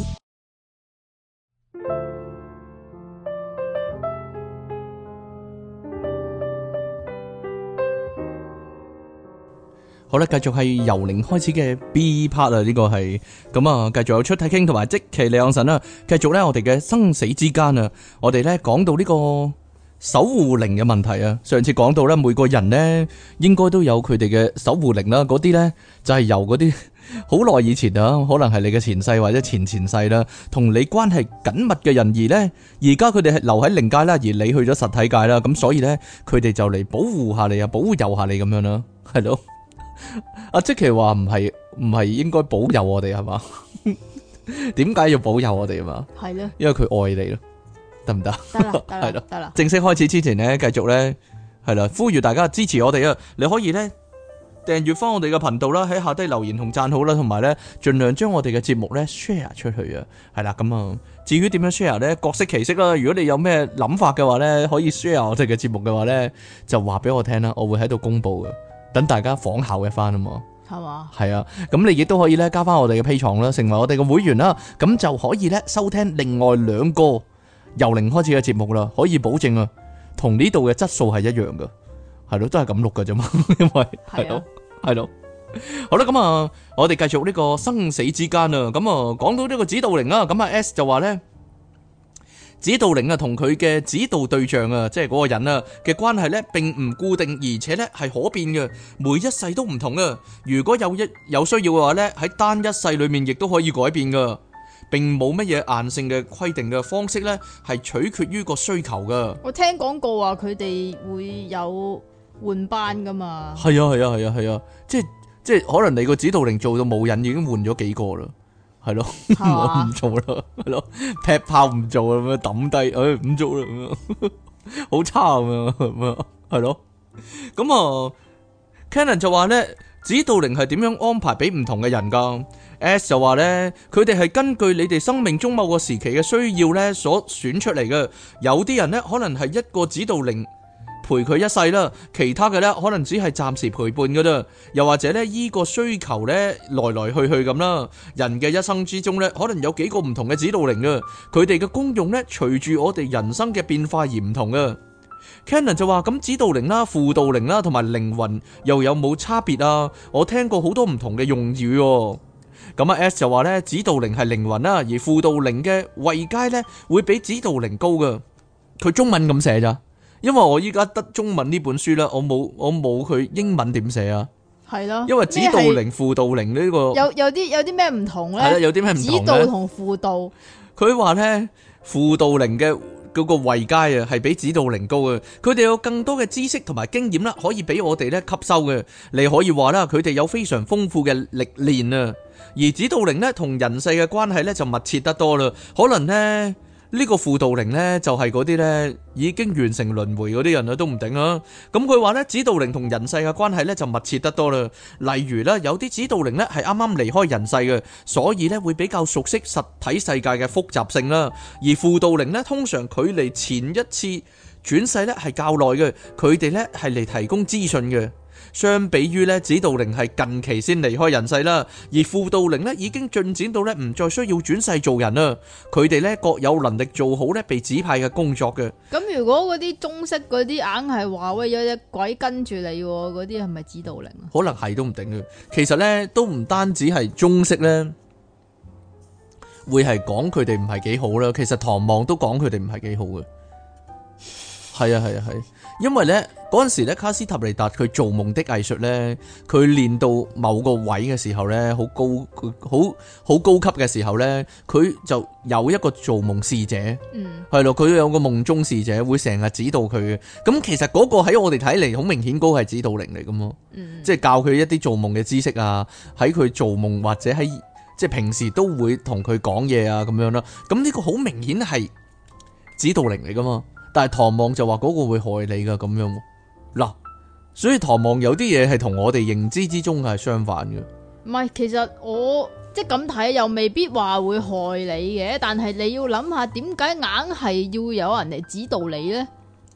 好啦，繼續係由零開始嘅 B part 啊，呢個係咁啊，繼續有出體傾同埋即其利昂神啦。繼續咧，我哋嘅生死之間啊，我哋咧講到呢個守護靈嘅問題啊。上次講到咧，每個人咧應該都有佢哋嘅守護靈啦。嗰啲咧就係由嗰啲好耐以前啊，可能係你嘅前世或者前前世啦，同你關係緊密嘅人，而咧而家佢哋係留喺靈界啦，而你去咗實體界啦，咁所以咧佢哋就嚟保護下你啊，保佑下你咁樣啦，係咯。阿即奇話唔係唔係應該保佑我哋係嘛？點解要保佑我哋啊嘛？ 係咧， 因為佢愛你咯，得唔得？ 得啦，得啦， 係咯， 得啦。 正式開始之前呢，繼續咧係啦，呼籲大家支持我哋啊！你可以咧訂閱翻我哋嘅頻道啦，喺下低留言同讚好啦，同埋咧盡量將我哋嘅節目咧 share 出去啊！係啦，咁啊，至於點樣 share 咧，各式其式啦。如果你有咩諗法嘅話咧，可以 share 我哋嘅節目嘅話咧，就話俾我聽啦，我會喺度公布嘅。等大家仿效嘅翻啊嘛， 係嘛？ 係啊，咁你亦都可以咧加翻我哋嘅 Patreon啦，成為我哋嘅會員啦，咁就可以咧收聽另外兩個由零開始嘅節目啦，可以保證啊，同呢度嘅質素係一樣噶，係咯，都係咁錄噶啫嘛，因為係咯，係咯，好啦，咁啊，我哋繼續呢個生死之間啊，咁啊，講到呢個指導靈啊，咁啊 S 就話咧。指導靈啊，同佢嘅指導對象啊，即係嗰個人啊嘅關係咧，並唔固定，而且咧係可變嘅，每一世都唔同啊。如果有一有需要嘅話咧，喺單一世裏面亦都可以改變噶，並冇乜嘢硬性嘅規定嘅方式咧，係取決於個需求噶。 我聽講過話佢哋會有換班噶嘛？ 係啊係啊係啊係啊，即係即係可能你個指導靈做到冇癮，已經換咗幾個啦。係咯，我唔做啦，係咯，劈炮唔做啦，咁樣抌低，誒唔做啦，咁樣好差咁樣，咁樣係咯。咁啊 ，Cannon 就話咧，指導靈係點樣安排俾唔同嘅人噶 ？S 就話咧，佢哋係根據你哋生命中某個時期嘅需要咧所選出嚟嘅。有啲人咧可能係一個指導靈陪佢一世啦，其他嘅咧可能只係暫時陪伴噶啦，又或者咧依個需求咧來來去去咁啦。人嘅一生之中咧，可能有幾個唔同嘅指導靈啊，佢哋嘅功用咧隨住我哋人生嘅變化而唔同啊。Cannon 就話咁指導靈啦、輔導靈啦同埋靈魂又有冇差別啊？我聽過好多唔同嘅用語。咁啊 S 就話咧，指導靈係靈魂啦，而輔導靈嘅位階咧會比指導靈高噶。佢中文咁寫咋？因為我依家得中文呢本書啦，我冇我冇佢英文點寫啊？ 係咯， 因為指導靈、輔導靈呢個有有啲有啲咩唔同咧？ 係啦，有啲咩唔同咧？ 指導同輔導， 佢話咧輔導靈嘅嗰個位階啊，係比指導靈高嘅。佢哋有更多嘅知識同埋經驗啦，可以俾我哋咧吸收嘅。你可以話啦，佢哋有非常豐富嘅歷練啊。而指導靈咧同人世嘅關係咧就密切得多啦，可能咧。呢個輔導靈呢，就係嗰啲呢已經完成輪迴嗰啲人啦，都唔定啊。咁佢話呢，指導靈同人世嘅關係呢，就密切得多啦。例如呢，有啲指導靈呢係啱啱離開人世嘅，所以呢會比較熟悉實體世界嘅複雜性啦。而輔導靈呢，通常距離前一次轉世呢係較耐嘅，佢哋呢係嚟提供資訊嘅。相比於咧，指導靈係近期先離開人世啦，而輔導靈咧已經進展到咧唔再需要轉世做人啦。佢哋咧各有能力做好咧被指派嘅工作嘅。 咁如果嗰啲中式嗰啲硬係話喂有隻鬼跟住你，嗰啲係咪指導靈啊？ 可能係都唔定嘅。其實咧都唔單止係中式咧，會係講佢哋唔係幾好啦。其實唐望都講佢哋唔係幾好嘅。係啊係啊係。因為咧嗰陣時咧卡斯塔尼達佢做夢的藝術咧，佢練到某個位嘅時候咧，好高好好高級嘅時候咧，佢就有一個做夢使者，嗯，係咯，佢有個夢中使者會成日指導佢嘅。咁其實嗰個喺我哋睇嚟好明顯嗰個係指導靈嚟噶嘛，嗯，即係教佢一啲做夢嘅知識啊，喺佢做夢或者喺即係平時都會同佢講嘢啊咁樣啦。咁呢個好明顯係指導靈嚟噶嘛。但係唐望就話嗰個會害你噶咁樣，嗱，所以唐望有啲嘢係同我哋認知之中係相反嘅。 唔係，其實我即係咁睇又未必話會害你嘅，但係你要諗下點解硬係要有人嚟指導你呢？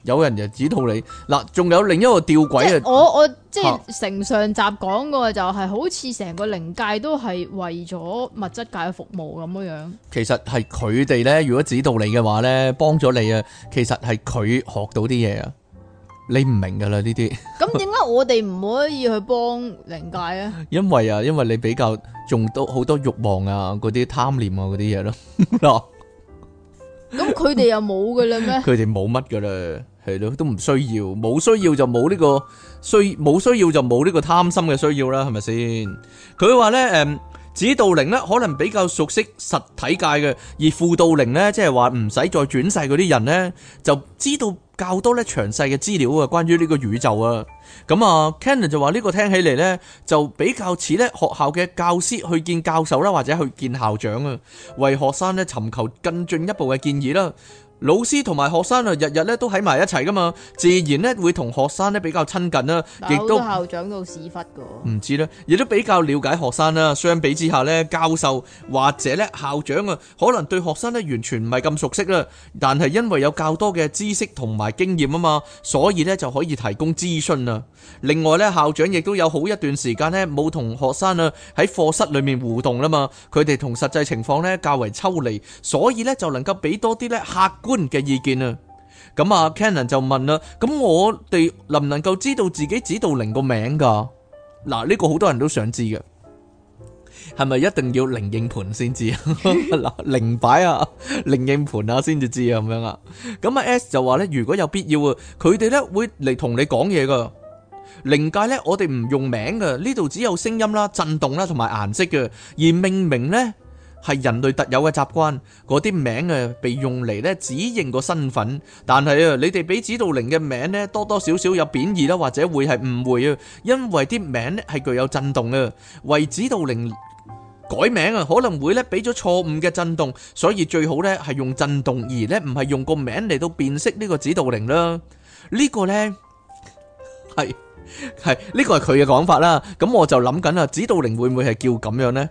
有人就指導你。嗱，仲有另一個吊即詭啊， 係我我即嚇係成上集講過就係好似成個靈界都係為咗物質界服務咁樣樣。 其實係佢哋咧，如果指導你嘅話咧，幫咗你啊，其實係佢學到啲嘢啊，你唔明噶啦呢啲。 咁點解我哋唔可以去幫靈界啊？ 因為啊，因為你比較仲多好多慾望啊，嗰啲貪念啊，嗰啲嘢咯。嗱， 咁佢哋又冇嘅啦咩？ 佢哋冇乜噶啦，係咯，都唔需要，冇需要就冇呢個需，冇需要就冇呢個貪心嘅需要啦，係咪先？佢話咧，誒，指導靈咧可能比較熟悉實體界嘅，而輔導靈咧，即係話唔使再轉世嗰啲人咧，就知道較多咧詳細嘅資料啊，關於呢個宇宙啊。咁啊 Cannon 就話呢個聽起嚟咧，就比較似咧學校嘅教師去見教授啦，或者去見校長啊，為學生咧尋求更進一步嘅建議啦。老師同埋學生啊，日日咧都喺埋一齊噶嘛，自然咧會同學生咧比較親近啦，亦都好多校長到屎忽噶。 唔知咧，亦都比較了解學生啦。相比之下咧，教授或者咧校長啊，可能對學生咧完全唔係咁熟悉啦。但係因為有較多嘅知識同埋經驗啊嘛，所以咧就可以提供諮詢啦。另外咧，校長亦都有好一段時間咧冇同學生啊喺課室裏面互動啦嘛，佢哋同實際情況咧較為抽離，所以咧就能夠俾多啲咧客觀嘅意見啊。咁啊 Cannon 就問啦，咁我哋能唔能夠知道自己指導靈個名噶？嗱，呢個好多人都想知嘅，係咪一定要靈應盤先知啊？嗱，靈擺啊，靈應盤啊，先至知啊，咁樣啊？咁啊 S 就話咧，如果有必要啊，佢哋咧會嚟同你講嘢噶。靈界咧，我哋唔用名噶，呢度只有聲音啦、震動啦同埋顏色嘅，而命名咧係人類特有嘅習慣，嗰啲名啊被用嚟咧指認個身份，但係啊，你哋俾指導靈嘅名咧多多少少有貶義啦，或者會係誤會啊，因為啲名咧係具有震動啊，為指導靈改名啊，可能會咧俾咗錯誤嘅震動，所以最好咧係用震動，而咧唔係用個名嚟到辨識呢個指導靈啦。呢個咧係係呢個係佢嘅講法啦。咁我就諗緊啊，指導靈會唔會係叫咁樣咧？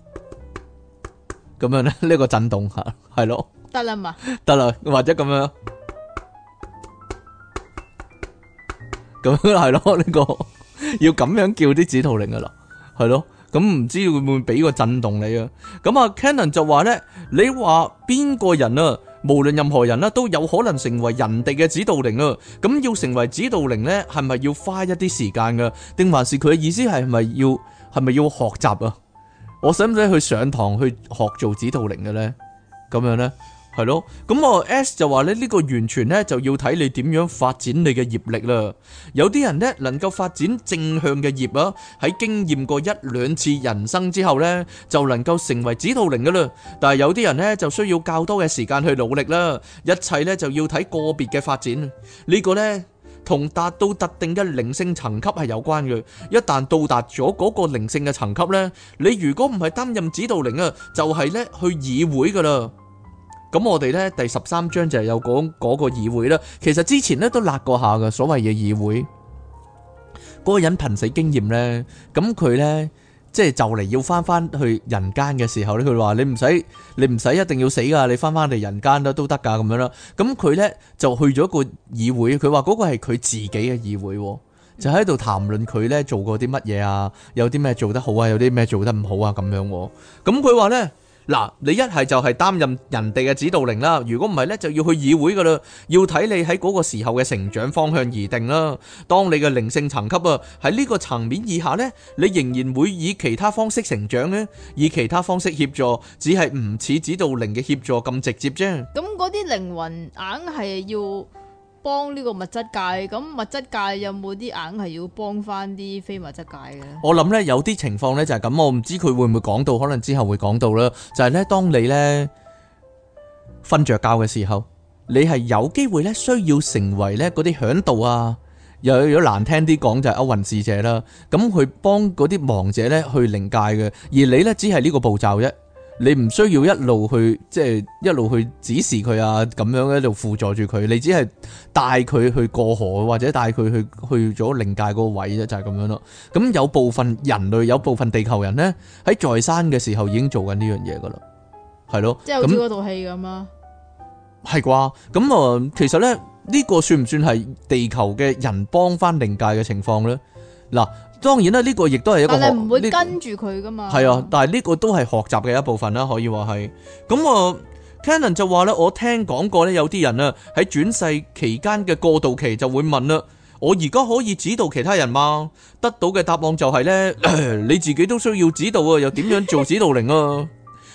咁樣咧，呢個震動吓，係咯， 得啦嘛， 得啦，或者咁樣，咁樣係咯，呢個要咁樣叫啲指導靈噶啦，係咯，咁唔知會唔會俾個震動你啊？咁啊 Cannon 就話咧，你話邊個人啊，無論任何人啦，都有可能成為人哋嘅指導靈啊。咁要成為指導靈咧，係咪要花一啲時間噶？定還是佢嘅意思係咪要係咪要學習啊？我使唔使去上堂去學做指導靈嘅咧？咁樣咧，係咯。咁我 S 就話咧，呢個完全咧就要睇你點樣發展你嘅業力啦。有啲人咧能夠發展正向嘅業啊，喺經驗過一兩次人生之後咧，就能夠成為指導靈噶啦。但係有啲人咧就需要較多嘅時間去努力啦。一切咧就要睇個別嘅發展。呢個咧同達到特定嘅靈性層級係有關嘅。一旦到達咗嗰個靈性嘅層級咧，你如果唔係擔任指導靈啊，就係咧去議會噶啦。咁我哋咧第十三章就係有講嗰個議會啦。其實之前咧都辣過下嘅所謂嘅議會，嗰個人瀕死經驗咧，咁佢咧即係就嚟要翻翻去人間嘅時候咧，佢話你唔使你唔使一定要死噶，你翻翻嚟人間都都得噶咁樣啦。咁佢咧就去咗個議會，佢話嗰個係佢自己嘅議會，就喺度談論佢咧做過啲乜嘢啊，有啲咩做得好啊，有啲咩做得唔好啊咁樣。咁佢話咧，嗱，你一係就係擔任人哋嘅指導靈啦，如果唔係咧就要去議會噶啦，要睇你喺嗰個時候嘅成長方向而定啦。當你嘅靈性層級啊喺呢個層面以下咧，你仍然會以其他方式成長咧，以其他方式協助，只係唔似指導靈嘅協助咁直接啫。 咁嗰啲靈魂硬係要幫呢個物質界，咁物質界有冇啲硬係要幫翻啲非物質界嘅？ 我諗咧有啲情況咧就係咁，我唔知佢會唔會講到，可能之後會講到啦。就係咧，當你咧瞓着覺嘅時候，你係有機會咧需要成為咧嗰啲響導啊，又有咗難聽啲講就係歐運使者啦。咁去幫嗰啲亡者咧去靈界嘅，而你咧只係呢個步驟啫。你唔需要一路去即係一路去指示佢啊，咁樣一路輔助住佢，你只係帶佢去過河或者帶佢去去咗靈界嗰個位啫，就係咁樣咯。咁有部分人類有部分地球人咧喺在生嘅時候已經做緊呢樣嘢噶啦，係咯， 即係好似嗰套戲咁啊。 係啩？咁啊，其實咧呢個算唔算係地球嘅人幫翻靈界嘅情況呢？嗱，當然啦，呢個亦都係一個學， 但係唔會呢跟住佢噶嘛。 係啊，但係呢個都係學習嘅一部分啦，可以話係。咁啊 Cannon 就話咧，我聽講過咧，有啲人啊喺轉世期間嘅過渡期就會問啦，我而家可以指導其他人嗎？得到嘅答案就係咧，你自己都需要指導啊，又點樣做指導靈啊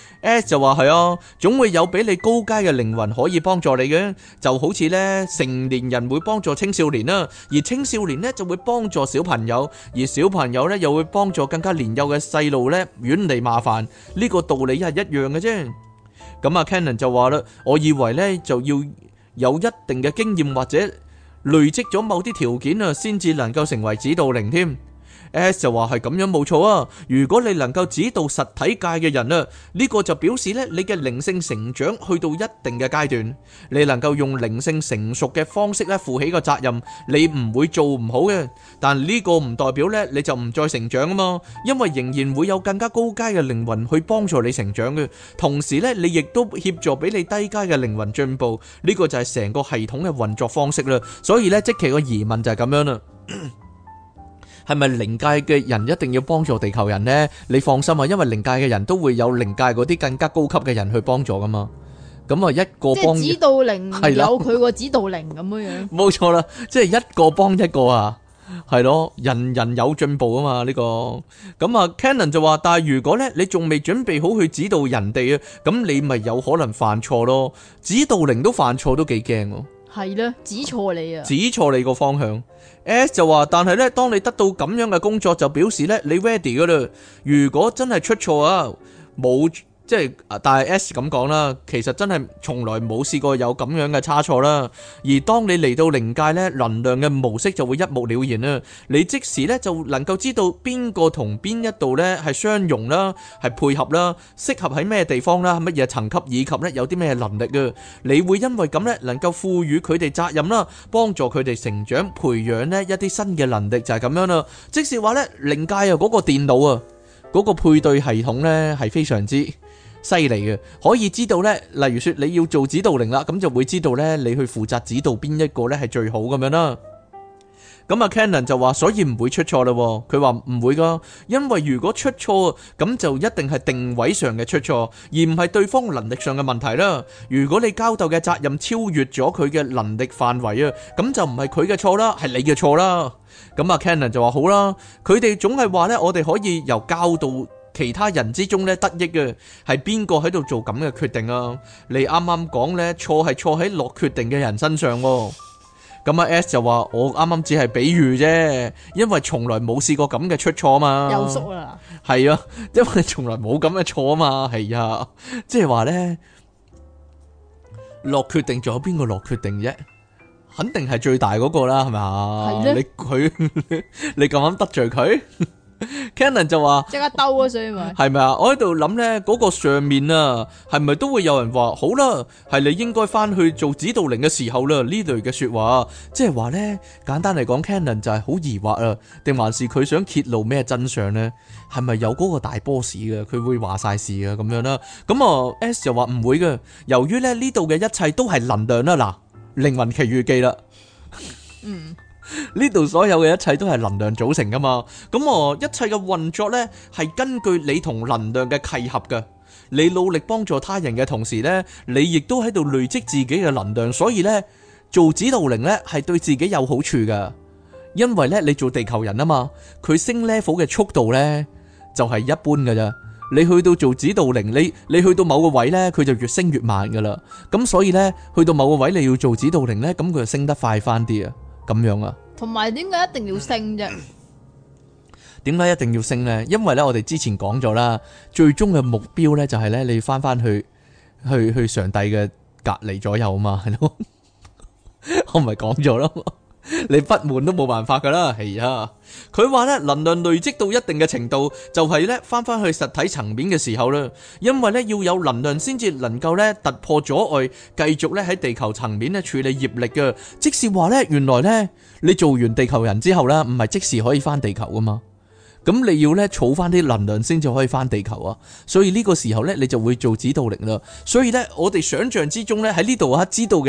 ？S 就話係啊，總會有比你高階嘅靈魂可以幫助你嘅，就好似咧成年人會幫助青少年啦，而青少年咧就會幫助小朋友，而小朋友咧又會幫助更加年幼嘅細路咧遠離麻煩，呢個道理係一樣嘅啫。咁啊 Cannon 就話啦，我以為咧就要有一定嘅經驗或者累積咗某啲條件啊，先至能夠成為指導靈添。S 就話係咁樣冇錯啊！如果你能夠指導實體界嘅人啊，呢個就表示咧你嘅靈性成長去到一定嘅階段，你能夠用靈性成熟嘅方式咧負起個責任，你唔會做唔好嘅。但呢個唔代表咧你就唔再成長啊嘛，因為仍然會有更加高階嘅靈魂去幫助你成長嘅，同時咧你亦都協助俾你低階嘅靈魂進步。呢個就係成個系統嘅運作方式啦。所以咧即其個疑問就係咁樣啦。係咪靈界嘅人一定要幫助地球人呢？你放心啊，因為靈界嘅人都會有靈界嗰啲更加高級嘅人去幫助噶嘛。咁啊，一個幫即係指導靈有佢個指導靈咁樣樣。 冇錯啦，即係一個幫一個啊，係咯，人人有進步啊嘛呢個。咁啊 Cannon 就話，但係如果咧你仲未準備好去指導人哋啊，咁你咪有可能犯錯咯。指導靈都犯錯都幾驚喎。 係咧，指錯你啊！ 指錯你個方向。S 就話，但係咧，當你得到咁樣嘅工作，就表示咧你 ready 噶啦。如果真係出錯啊，冇即係，但係 S 咁講啦，其實真係從來冇試過有咁樣嘅差錯啦。而當你嚟到靈界咧，能量嘅模式就會一目了然啦。你即時咧就能夠知道邊個同邊一度咧係相容啦，係配合啦，適合喺咩地方啦，乜嘢層級，以及咧有啲咩能力啊。你會因為咁咧能夠賦予佢哋責任啦，幫助佢哋成長，培養呢一啲新嘅能力，就係咁樣啦。即是話咧，靈界啊嗰個電腦啊，嗰個配對系統咧係非常之犀利嘅，可以知道咧，例如說你要做指導靈啦，咁就會知道咧，你去負責指導邊一個咧係最好咁樣啦。咁啊 Cannon 就話，所以唔會出錯啦。佢話唔會噶，因為如果出錯，咁就一定係定位上嘅出錯，而唔係對方能力上嘅問題啦。如果你交代嘅責任超越咗佢嘅能力範圍啊，咁就唔係佢嘅錯啦，係你嘅錯啦。咁啊 Cannon 就話好啦，佢哋總係話咧，我哋可以由教導其他人之中咧得益嘅，係邊個喺度做咁嘅決定啊？你啱啱講咧，錯係錯喺落決定嘅人身上。咁啊 S 就話，我啱啱只係比喻啫，因為從來冇試過咁嘅出錯啊嘛。 又縮啦， 係啊，因為從來冇咁嘅錯啊嘛，係啊，即係話咧落決定，仲有邊個落決定啫？肯定係最大嗰個啦，係咪啊？ 係咧， 你佢你咁啱得罪佢？Cannon 就話即刻兜啊，所以咪係咪啊？我喺度諗呢嗰個上面啊，係咪都會有人話好啦？係你應該翻去做指導靈嘅時候啦，呢類嘅說話，即係話呢，簡單嚟講 Cannon 就係好疑惑啊，定還是佢想揭露咩真相呢？係咪有嗰個大 boss 嘅？佢會話晒事嘅咁樣啦？咁啊 S 就話唔會嘅，由於咧呢度嘅一切都係能量啦，嗱，靈魂奇遇記啦， 嗯。 呢度所有嘅一切都係能量組成噶嘛，咁我一切嘅運作呢，係根據你同能量嘅契合噶。你努力幫助他人嘅同時呢，你亦都喺度累積自己嘅能量，所以呢，做指導靈呢係對自己有好處噶。因為呢，你做地球人啊嘛，佢升 level 嘅速度呢就係一般噶咋。你去到做指導靈，你你去到某個位呢，佢就越升越慢噶啦。咁所以呢，去到某個位你要做指導靈呢，咁佢就升得快翻啲啊。咁樣啊？ 同埋點解一定要升啫？ 點解一定要升呢？因為咧，我哋之前講咗啦，最終嘅目標咧就係咧，你翻翻去去去上帝嘅隔離左右啊嘛，係咯？我唔係講咗咯，你不滿都冇辦法噶啦，係啊。佢話咧，能量累積到一定嘅程度，就係咧翻翻去實體層面嘅時候啦。因為咧要有能量先至能夠咧突破阻礙，繼續咧喺地球層面咧處理業力嘅。即是話咧，原來咧你做完地球人之後咧，唔係即時可以翻地球噶嘛。咁你要咧儲翻啲能量先至可以翻地球啊。所以呢個時候咧，你就會做指導靈啦。所以咧，我哋想象之中咧喺呢度啊，知道嘅。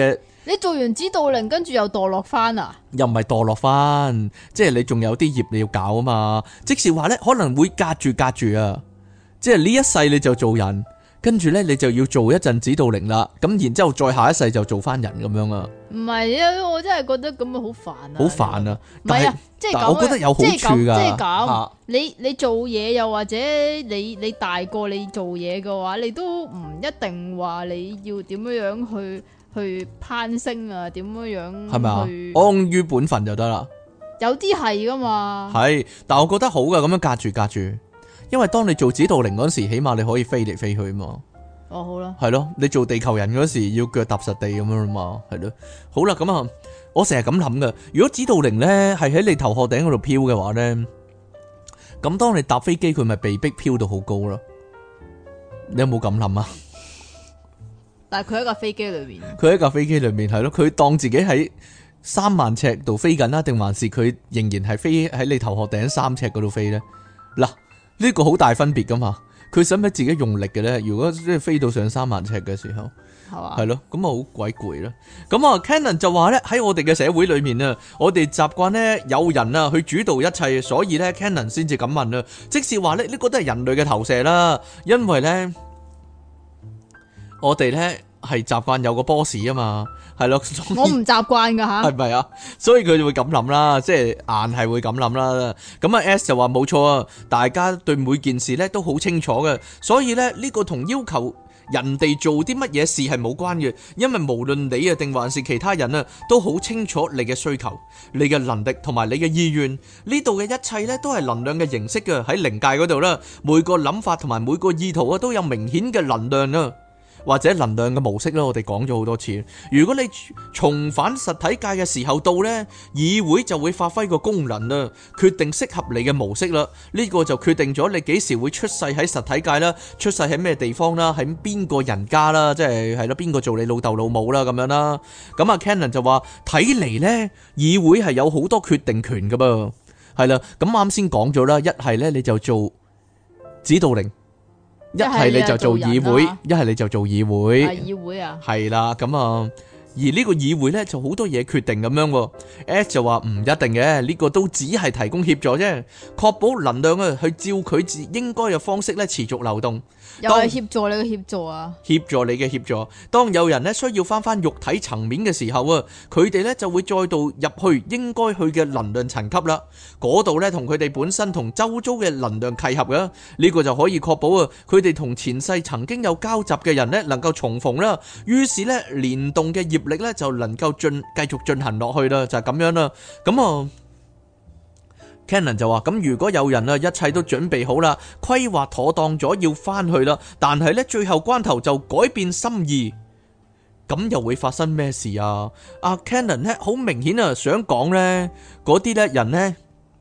你做完指導靈，跟住又墮落翻啊？ 又唔係墮落翻，即係你仲有啲業你要搞啊嘛。即是話呢，可能會隔住隔住啊，即係呢一世你就做人，跟住呢，你就要做一陣指導靈啦，咁然之後再下一世就做翻人咁樣啊。 唔係啊，我真係覺得咁樣好煩啊！ 好煩啊！ 唔係啊，即係咁， 我覺得有好處㗎。 即係咁， 啊你你做嘢又或者你你大個你做嘢嘅話，你都唔一定話你要點樣樣去去攀升啊？點樣樣係咪啊？ 去安於本分就得啦。 有啲係噶嘛？ 係，但我覺得好噶，咁樣隔住隔住，因為當你做指導靈嗰時，起碼你可以飛嚟飛去嘛。 哦，好啦， 係咯，你做地球人嗰時要腳踏實地咁樣嘛，係咯。好啦，咁啊，我成日咁諗噶，如果指導靈咧係喺你頭殼頂嗰度飄嘅話咧，咁當你搭飛機，佢咪被逼飄到好高咯？你有冇咁諗啊？ 但係佢喺架飛機裏面， 佢喺架飛機裏面係咯，佢當自己喺三萬尺度飛緊啦，定還是佢仍然係飛喺你頭殼頂三尺嗰度飛咧？嗱，呢個好大分別噶嘛。佢使唔使自己用力嘅咧？如果即係飛到上三萬尺嘅時候， 係嘛？ 係咯，咁啊好鬼攰啦。咁啊，Cannon 就話咧，喺我哋嘅社會裏面啊，我哋習慣咧有人啊去主導一切，所以咧 Cannon 先至咁問啊。即是話咧，呢個都係人類嘅投射啦，因為咧我哋咧係習慣有個 boss 啊嘛，係咯。 我唔習慣噶吓， 係咪啊？所以佢就會咁諗啦，即係硬係會咁諗啦。咁啊 S 就話冇錯啊，大家對每件事咧都好清楚嘅，所以咧呢個同要求人哋做啲乜嘢事係冇關嘅，因為無論你啊定還是其他人啊，都好清楚你嘅需求、你嘅能力同埋你嘅意願。呢度嘅一切咧都係能量嘅形式嘅，喺靈界嗰度啦，每個諗法同埋每個意圖啊都有明顯嘅能量啊。或者能量嘅模式啦，我哋講咗好多次。如果你重返實體界嘅時候到呢，議會就會發揮個功能啦，決定適合你嘅模式啦。呢個就決定咗你幾時會出世喺實體界啦，出世喺咩地方啦，喺邊個人家啦，即係係咯邊個做你老豆老母啦咁樣啦。咁啊 Cannon 就話睇嚟呢，議會係有好多決定權噶噃，係啦。咁啱先講咗啦，一係呢你就做指導靈。一係你就做議會，一係你就做議會。 係議會啊， 係啦，咁啊，而呢個議會呢就好多嘢決定咁樣。S 就話唔一定嘅，呢個都只係提供協助啫，確保能量啊去照佢自應該嘅方式咧持續流動。 又係協助你嘅協助啊！ 協助你嘅協助。當有人咧需要翻翻肉體層面嘅時候啊，佢哋咧就會再度入去應該去嘅能量層級啦。嗰度咧同佢哋本身同周遭嘅能量契合嘅，呢個就可以確保啊，佢哋同前世曾經有交集嘅人咧能夠重逢啦。於是咧聯動嘅業力咧就能夠進繼續進行落去啦，就係咁樣啦。咁啊。Cannon 就話：咁如果有人啊，一切都準備好啦，規劃妥當咗要翻去啦，但係呢最後關頭就改變心意，咁又會發生咩事啊？阿 Cannon 呢好明顯啊，想講呢嗰啲呢人呢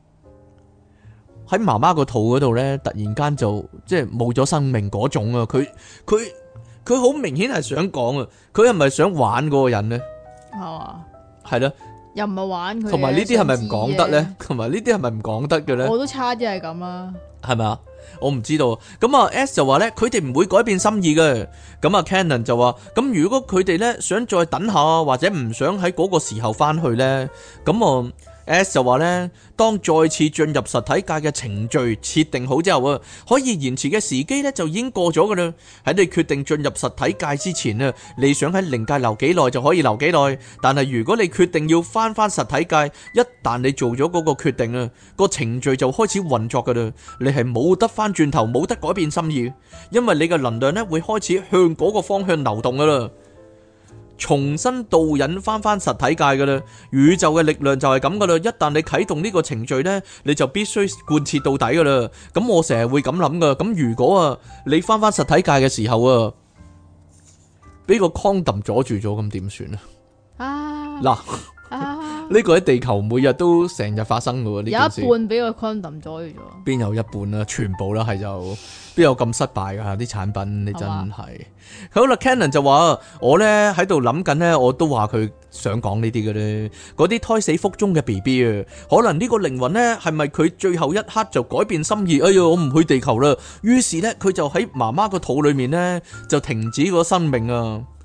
喺媽媽個肚嗰度呢，突然間就即係冇咗生命嗰種啊！佢佢佢好明顯係想講啊，佢係咪想玩嗰個人呢？ 係嘛？ 係啦。 又唔係玩佢， 同埋呢啲係咪唔講得呢？同埋呢啲係咪唔講得嘅呢？ 我都差啲係咁啦， 係咪啊？我唔知道。咁啊 S 就話呢，佢哋唔會改變心意嘅。咁啊 Cannon 就話，咁如果佢哋呢想再等下，或者唔想喺嗰個時候翻去呢，咁啊 S 就話呢，當再次進入實體界嘅程序設定好之後啊，可以延遲嘅時機呢就已經過咗噶啦。喺你決定進入實體界之前啊，你想喺靈界留幾耐就可以留幾耐。但係如果你決定要翻翻實體界，一旦你做咗嗰個決定啊，個程序就開始運作噶啦。你係冇得翻轉頭，冇得改變心意，因為你嘅能量呢會開始向嗰個方向流動噶啦。重新導引翻翻實體界噶啦，宇宙嘅力量就係咁噶啦。一旦你啟動呢個程序呢，你就必須貫徹到底噶啦。咁我成日會咁諗噶。咁如果啊，你翻翻實體界嘅時候啊，俾個 condom 阻住咗，咁點算啊？啊，嗱，呢個喺地球每日都成日發生噶喎。呢件事有一半俾個 condom 阻住咗， 邊有一半啊？全部啦，係就邊有咁失敗噶啲產品？你真係。好啦 Cannon 就話我呢喺度諗緊呢，我都話佢想講呢啲嘅咧，嗰啲胎死腹中嘅 B B 啊，可能呢個靈魂呢係咪佢最後一刻就改變心意？哎呀，我唔去地球啦，於是呢，佢就喺媽媽個肚裏面呢就停止個生命啊。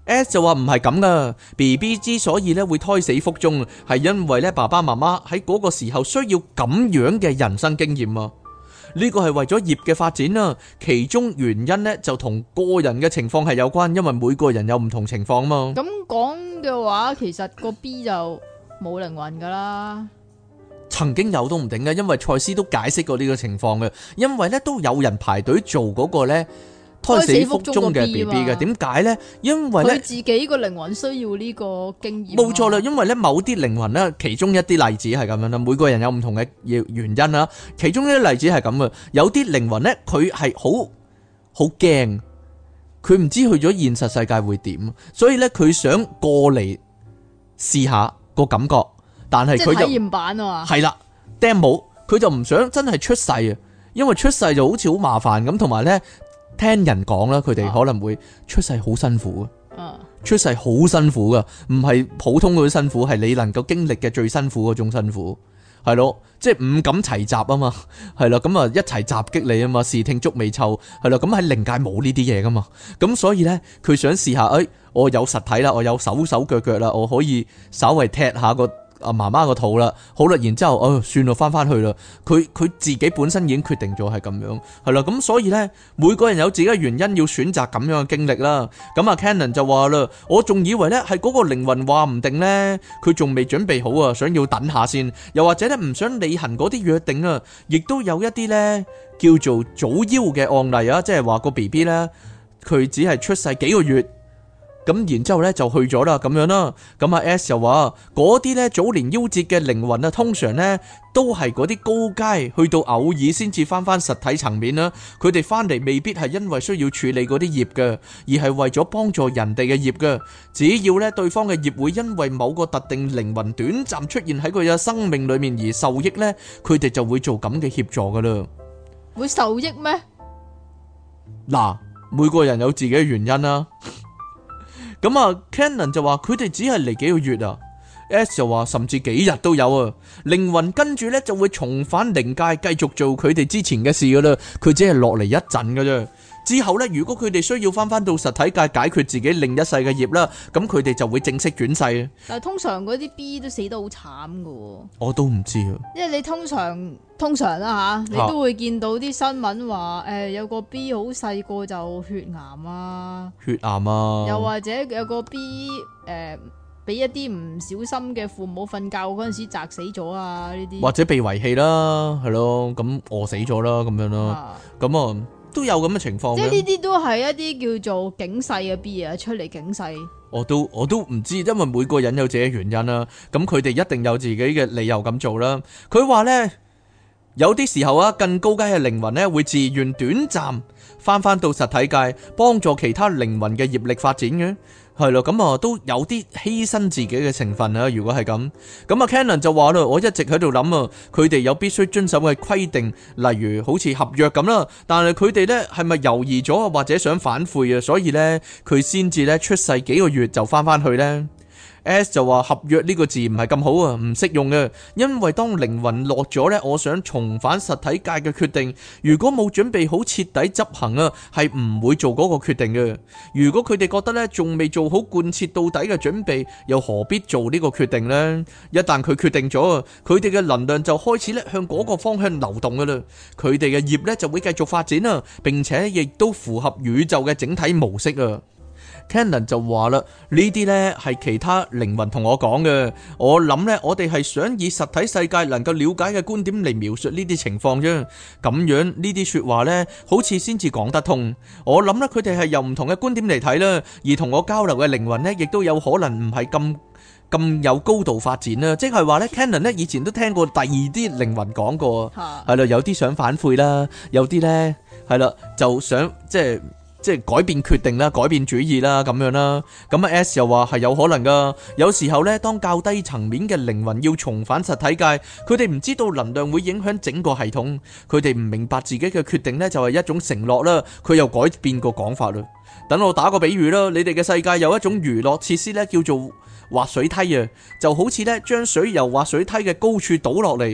S 就話唔係咁噶 ，B B 之所以咧會胎死腹中，係因為咧爸爸媽媽喺嗰個時候需要咁樣嘅人生經驗啊。呢個係為咗業嘅發展啦，其中原因呢就同個人嘅情況係有關，因為每個人有唔同情況嘛。 咁講嘅話，其實個 B 就冇靈魂噶啦。 曾經有都唔定嘅，因為賽斯都解釋過呢個情況嘅，因為咧都有人排隊做嗰個咧胎死腹中嘅 B B 嘅，點解呢？因為咧佢自己個靈魂需要呢個經驗。 冇錯啦，因為咧某啲靈魂咧，其中一啲例子係咁樣啦，每個人有唔同嘅原因啦。其中一啲例子係咁嘅，有啲靈魂咧佢係好好驚，佢唔知去咗現實世界會點，所以咧佢想過嚟試下個感覺，但係佢就體驗版啊嘛， 係啦 demo， 佢就唔想真係出世啊，因為出世就好似好麻煩咁，同埋咧。聽人講啦，佢哋可能會出世好辛苦啊，出世好辛苦噶，唔係普通嗰啲辛苦，係你能夠經歷嘅最辛苦嗰種辛苦，係咯，即係五感齊集啊嘛，係啦，咁啊一齊襲擊你啊嘛，視聽觸味嗅，係啦，咁喺靈界冇呢啲嘢噶嘛，咁所以呢，佢想試下，誒，我有實體啦，我有手手腳腳啦，我可以稍微踢下個。阿媽媽個肚啦，好啦，然之後，哦，算啦，翻翻去啦。佢佢自己本身已經決定咗係咁樣，係啦，咁所以呢，每個人有自己嘅原因要選擇咁樣嘅經歷啦。咁啊 Cannon 就話啦，我仲以為呢係嗰個靈魂話唔定呢，佢仲未準備好啊，想要等下先，又或者呢唔想履行嗰啲約定啊，亦都有一啲呢叫做早夭嘅案例啊，即係話個 B B 呢，佢只係出世幾個月。咁然之後咧就去咗啦，咁樣啦。咁阿 S 又話嗰啲咧早年夭折嘅靈魂啊，通常咧都係嗰啲高階，去到偶爾先至翻翻實體層面啦。佢哋翻嚟未必係因為需要處理嗰啲業嘅，而係為咗幫助人哋嘅業嘅。只要咧對方嘅業會因為某個特定靈魂短暫出現喺佢嘅生命裏面而受益咧，佢哋就會做咁嘅協助噶啦。 會受益咩？ 嗱，每個人有自己嘅原因啦。咁啊 Cannon 就話佢哋只係嚟幾個月啊 ，S 就話甚至幾日都有啊。靈魂跟住呢就會重返靈界，繼續做佢哋之前嘅事噶啦。佢只係落嚟一陣噶啫。之後呢，如果佢哋需要翻翻到實體界解決自己另一世嘅業啦，咁佢哋就會正式轉世。 但係通常嗰啲 B 都死得好慘噶。 我都唔知啊。 因為你通常通常啦吓，你都會見到啲新聞話，誒、呃、有個 B 好細個就血癌啊， 血癌啊， 又或者有個 B 誒俾一啲唔小心嘅父母瞓覺嗰陣時砸死咗啊，呢啲或者被遺棄啦，係咯，咁餓死咗啦，咁樣咯，咁啊。都有咁嘅情況， 即係呢啲都係一啲叫做警世嘅 B 啊，出嚟警世。 我都我都唔知，因為每個人有自己原因啦。咁佢哋一定有自己嘅理由咁做啦。佢話呢，有啲時候啊，更高階嘅靈魂呢會自願短暫翻翻到實體界，幫助其他靈魂嘅業力發展嘅。係咯，咁啊都有啲犧牲自己嘅成分啊。如果係咁，咁啊 Cannon 就話啦，我一直喺度諗啊，佢哋有必須遵守嘅規定，例如好似合約咁啦。但係佢哋呢係咪猶豫咗啊，或者想反悔啊？所以呢，佢先至呢出世幾個月就翻翻去呢。S 就話合約呢個字唔係咁好啊，唔適用嘅，因為當靈魂落咗呢，我想重返實體界嘅決定，如果冇準備好徹底執行啊，係唔會做嗰個決定嘅。如果佢哋覺得呢仲未做好貫徹到底嘅準備，又何必做呢個決定呢？一旦佢決定咗，佢哋嘅能量就開始咧向嗰個方向流動噶啦，佢哋嘅業呢就會繼續發展啊，並且亦都符合宇宙嘅整體模式啊。Cannon 就話啦，呢啲呢係其他靈魂同我講嘅，我諗呢，我哋係想以實體世界能夠了解嘅觀點嚟描述呢啲情況啫，咁樣呢啲說話呢，好似先至講得通。我諗呢，佢哋係由唔同嘅觀點嚟睇啦，而同我交流嘅靈魂呢，亦都有可能唔係咁咁有高度發展啦，即係話呢 Cannon 呢以前都聽過第二啲靈魂講過，係啦，有啲想反悔啦，有啲呢係啦就想即係。即係改變決定啦，改變主意啦，咁樣啦。咁啊 S 又話係有可能噶。有時候呢，當較低層面嘅靈魂要重返實體界，佢哋唔知道能量會影響整個系統，佢哋唔明白自己嘅決定呢就係一種承諾啦。佢又改變個講法啦。等我打個比喻啦，你哋嘅世界有一種娛樂設施呢，叫做滑水梯啊，就好似呢將水由滑水梯嘅高處倒落嚟。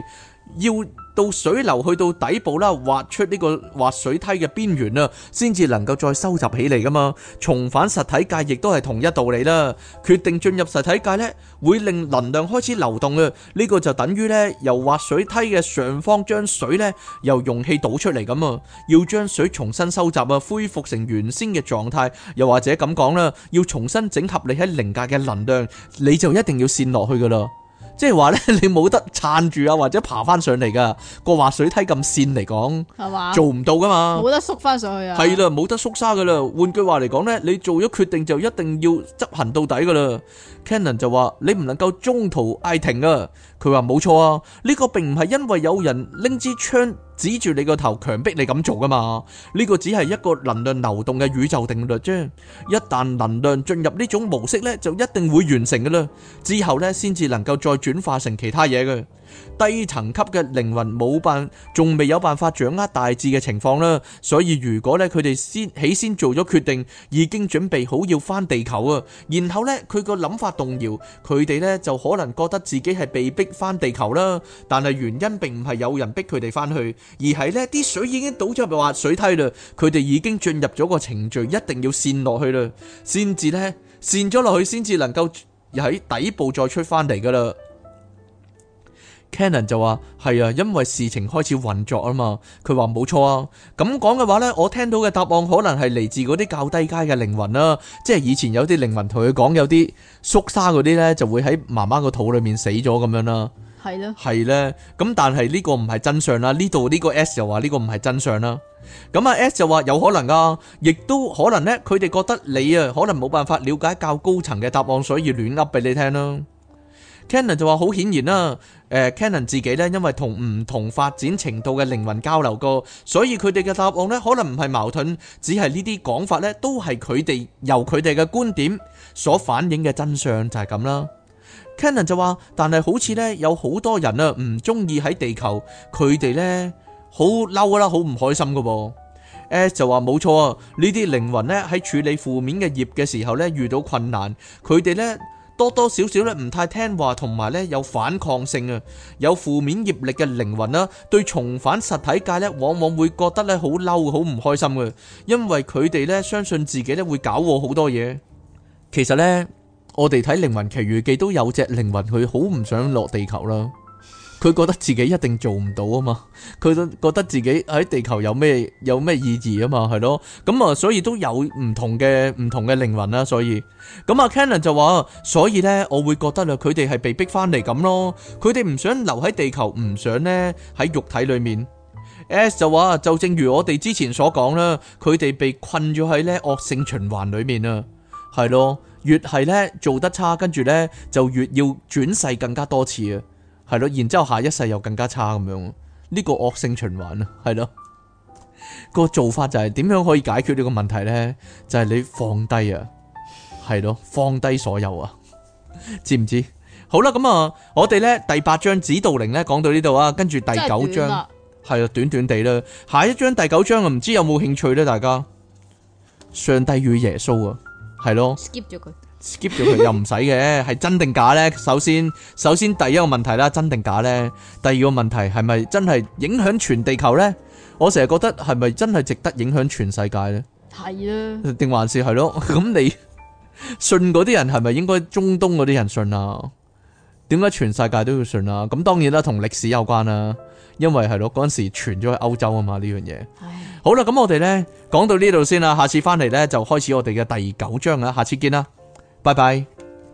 要到水流去到底部啦，劃出呢個滑水梯嘅邊緣啦，先至能夠再收集起嚟噶嘛。重返實體界亦都係同一道理啦。決定進入實體界呢，會令能量開始流動啊。呢個就等於呢，由滑水梯嘅上方將水呢由容器倒出嚟咁啊。要將水重新收集啊，恢復成原先嘅狀態，又或者咁講啦，要重新整合你喺靈界嘅能量，你就一定要陷落去噶啦。即係話咧，你冇得撐住啊，或者爬翻上嚟噶。個滑水梯咁線嚟講，係嘛，做唔到噶嘛，冇得縮翻上去啊。 係啦，冇得縮沙噶啦。換句話嚟講咧，你做咗決定就一定要執行到底噶啦。Cannon 就話你唔能夠中途嗌停啊。佢話冇錯啊，呢個並唔係因為有人拎支槍指住你個頭強迫你咁做噶嘛。呢個只係一個能量流動嘅宇宙定律啫。一旦能量進入呢種模式咧，就一定會完成噶啦。之後咧，先至能夠再轉化成其他嘢嘅。低層級嘅靈魂冇辦，仲未有辦法掌握大致嘅情況啦。所以如果咧佢哋先起先做咗決定，已經準備好要翻地球啊，然後咧佢個諗法動搖，佢哋咧就可能覺得自己係被逼翻地球啦。但係原因並唔係有人逼佢哋翻去，而係咧啲水已經倒咗入滑水梯啦。佢哋已經進入咗個程序，一定要陷落去啦，先至咧陷咗落去，先至能夠喺底部再出翻嚟噶啦。Cannon 就話係啊，因為事情開始運作啊嘛。佢話冇錯啊，咁講嘅話呢，我聽到嘅答案可能係嚟自嗰啲較低階嘅靈魂啦，即係以前有啲靈魂同佢講，有啲縮沙嗰啲呢就會喺媽媽個肚裏面死咗咁樣啦。係咯，係呢。咁但係呢個唔係真相啦。呢度呢個 S 就話呢個唔係真相啦。咁啊 S 就話有可能啊，亦都可能呢，佢哋覺得你啊可能冇辦法了解較高層嘅答案，所以亂噏俾你聽啦。Cannon 就話好顯然啦，誒 Cannon 自己咧，因為同唔同發展程度嘅靈魂交流過，所以佢哋嘅答案咧可能唔係矛盾，只係呢啲講法咧都係佢哋由佢哋嘅觀點所反映嘅真相，就係咁啦。Cannon 就話，但係好似咧有好多人啊唔中意喺地球，佢哋咧好嬲啦，好唔開心噶噃。S 就話冇錯啊，呢啲靈魂咧喺處理負面嘅業嘅時候咧遇到困難，佢哋咧多多少少咧唔太聽話，同埋咧有反抗性啊，有負面業力嘅靈魂啦，對重返實體界咧，往往會覺得咧好嬲，好唔開心嘅，因為佢哋咧相信自己咧會搞禍好多嘢。其實咧，我哋睇《靈魂奇遇記》都有隻靈魂，佢好唔想落地球啦。佢覺得自己一定做唔到啊嘛，佢都覺得自己喺地球有咩有咩意義啊嘛，係咯，咁啊，所以都有唔同嘅唔同嘅靈魂啦，所以咁啊 Cannon 就話，所以呢，我會覺得啦，佢哋係被逼翻嚟咁咯，佢哋唔想留喺地球，唔想呢喺肉體裏面。S 就話，就正如我哋之前所講啦，佢哋被困咗喺呢惡性循環裏面啊，係咯，越係呢做得差，跟住呢就越要轉世更加多次啊。係咯，然之後下一世又更加差咁樣，呢個惡性循環啊，係咯，個做法就係點樣可以解決呢個問題呢？就係你放低啊，係咯，放低所有啊，知唔知？好啦，咁啊，我哋呢第八章指導靈呢講到呢度啊，跟住第九章係啊，短短地啦，下一章第九章啊，唔知有冇興趣呢？大家上帝與耶穌啊，係咯 skip 咗佢。 skip 咗佢又唔使嘅，係真定假呢？首先，首先第一個問題啦，真定假呢？第二個問題係咪真係影響全地球呢？我成日覺得係咪真係值得影響全世界呢？係啊，定還是係咯？咁你信嗰啲人係咪應該中東嗰啲人信啊？點解全世界都要信啊？咁當然啦，同歷史有關啦，因為係咯嗰陣時傳咗去歐洲啊嘛呢樣嘢。好啦，咁我哋呢講到呢度先啦，下次翻嚟呢，就開始我哋嘅第九章啦，下次見啦。拜拜！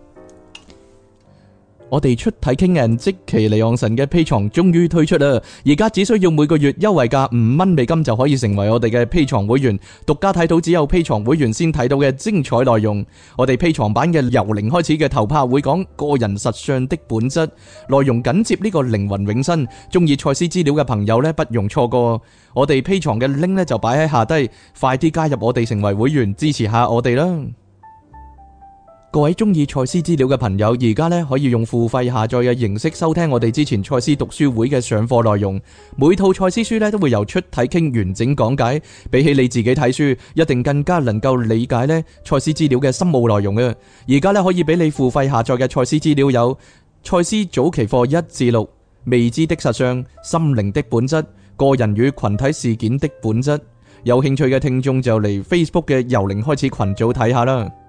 我哋出體傾人即其離岸神嘅 Patreon終於推出啦，而家只需要每個月優惠價五蚊美金就可以成為我哋嘅 Patreon會員，獨家睇到只有 Patreon會員先睇到嘅精彩內容。我哋 Patreon版嘅由零開始嘅頭拍會講個人實相的本質，內容緊接呢個靈魂永生。中意賽斯資料嘅朋友呢，不容錯過。我哋 Patreon嘅 link 呢就擺喺下低，快啲加入我哋成為會員，支持下我哋啦！各位中意賽斯資料嘅朋友，而家咧可以用付費下載嘅形式收聽我哋之前賽斯讀書會嘅上課內容。每套賽斯書咧都會由出體傾完整講解，比起你自己睇書，一定更加能夠理解咧賽斯資料嘅深奧內容嘅。而家咧可以俾你付費下載嘅賽斯資料有賽斯早期課一至六、 未知的實相、心靈的本質、個人與群體事件的本質。有興趣嘅聽眾就嚟 Facebook 嘅由零開始群組睇下啦。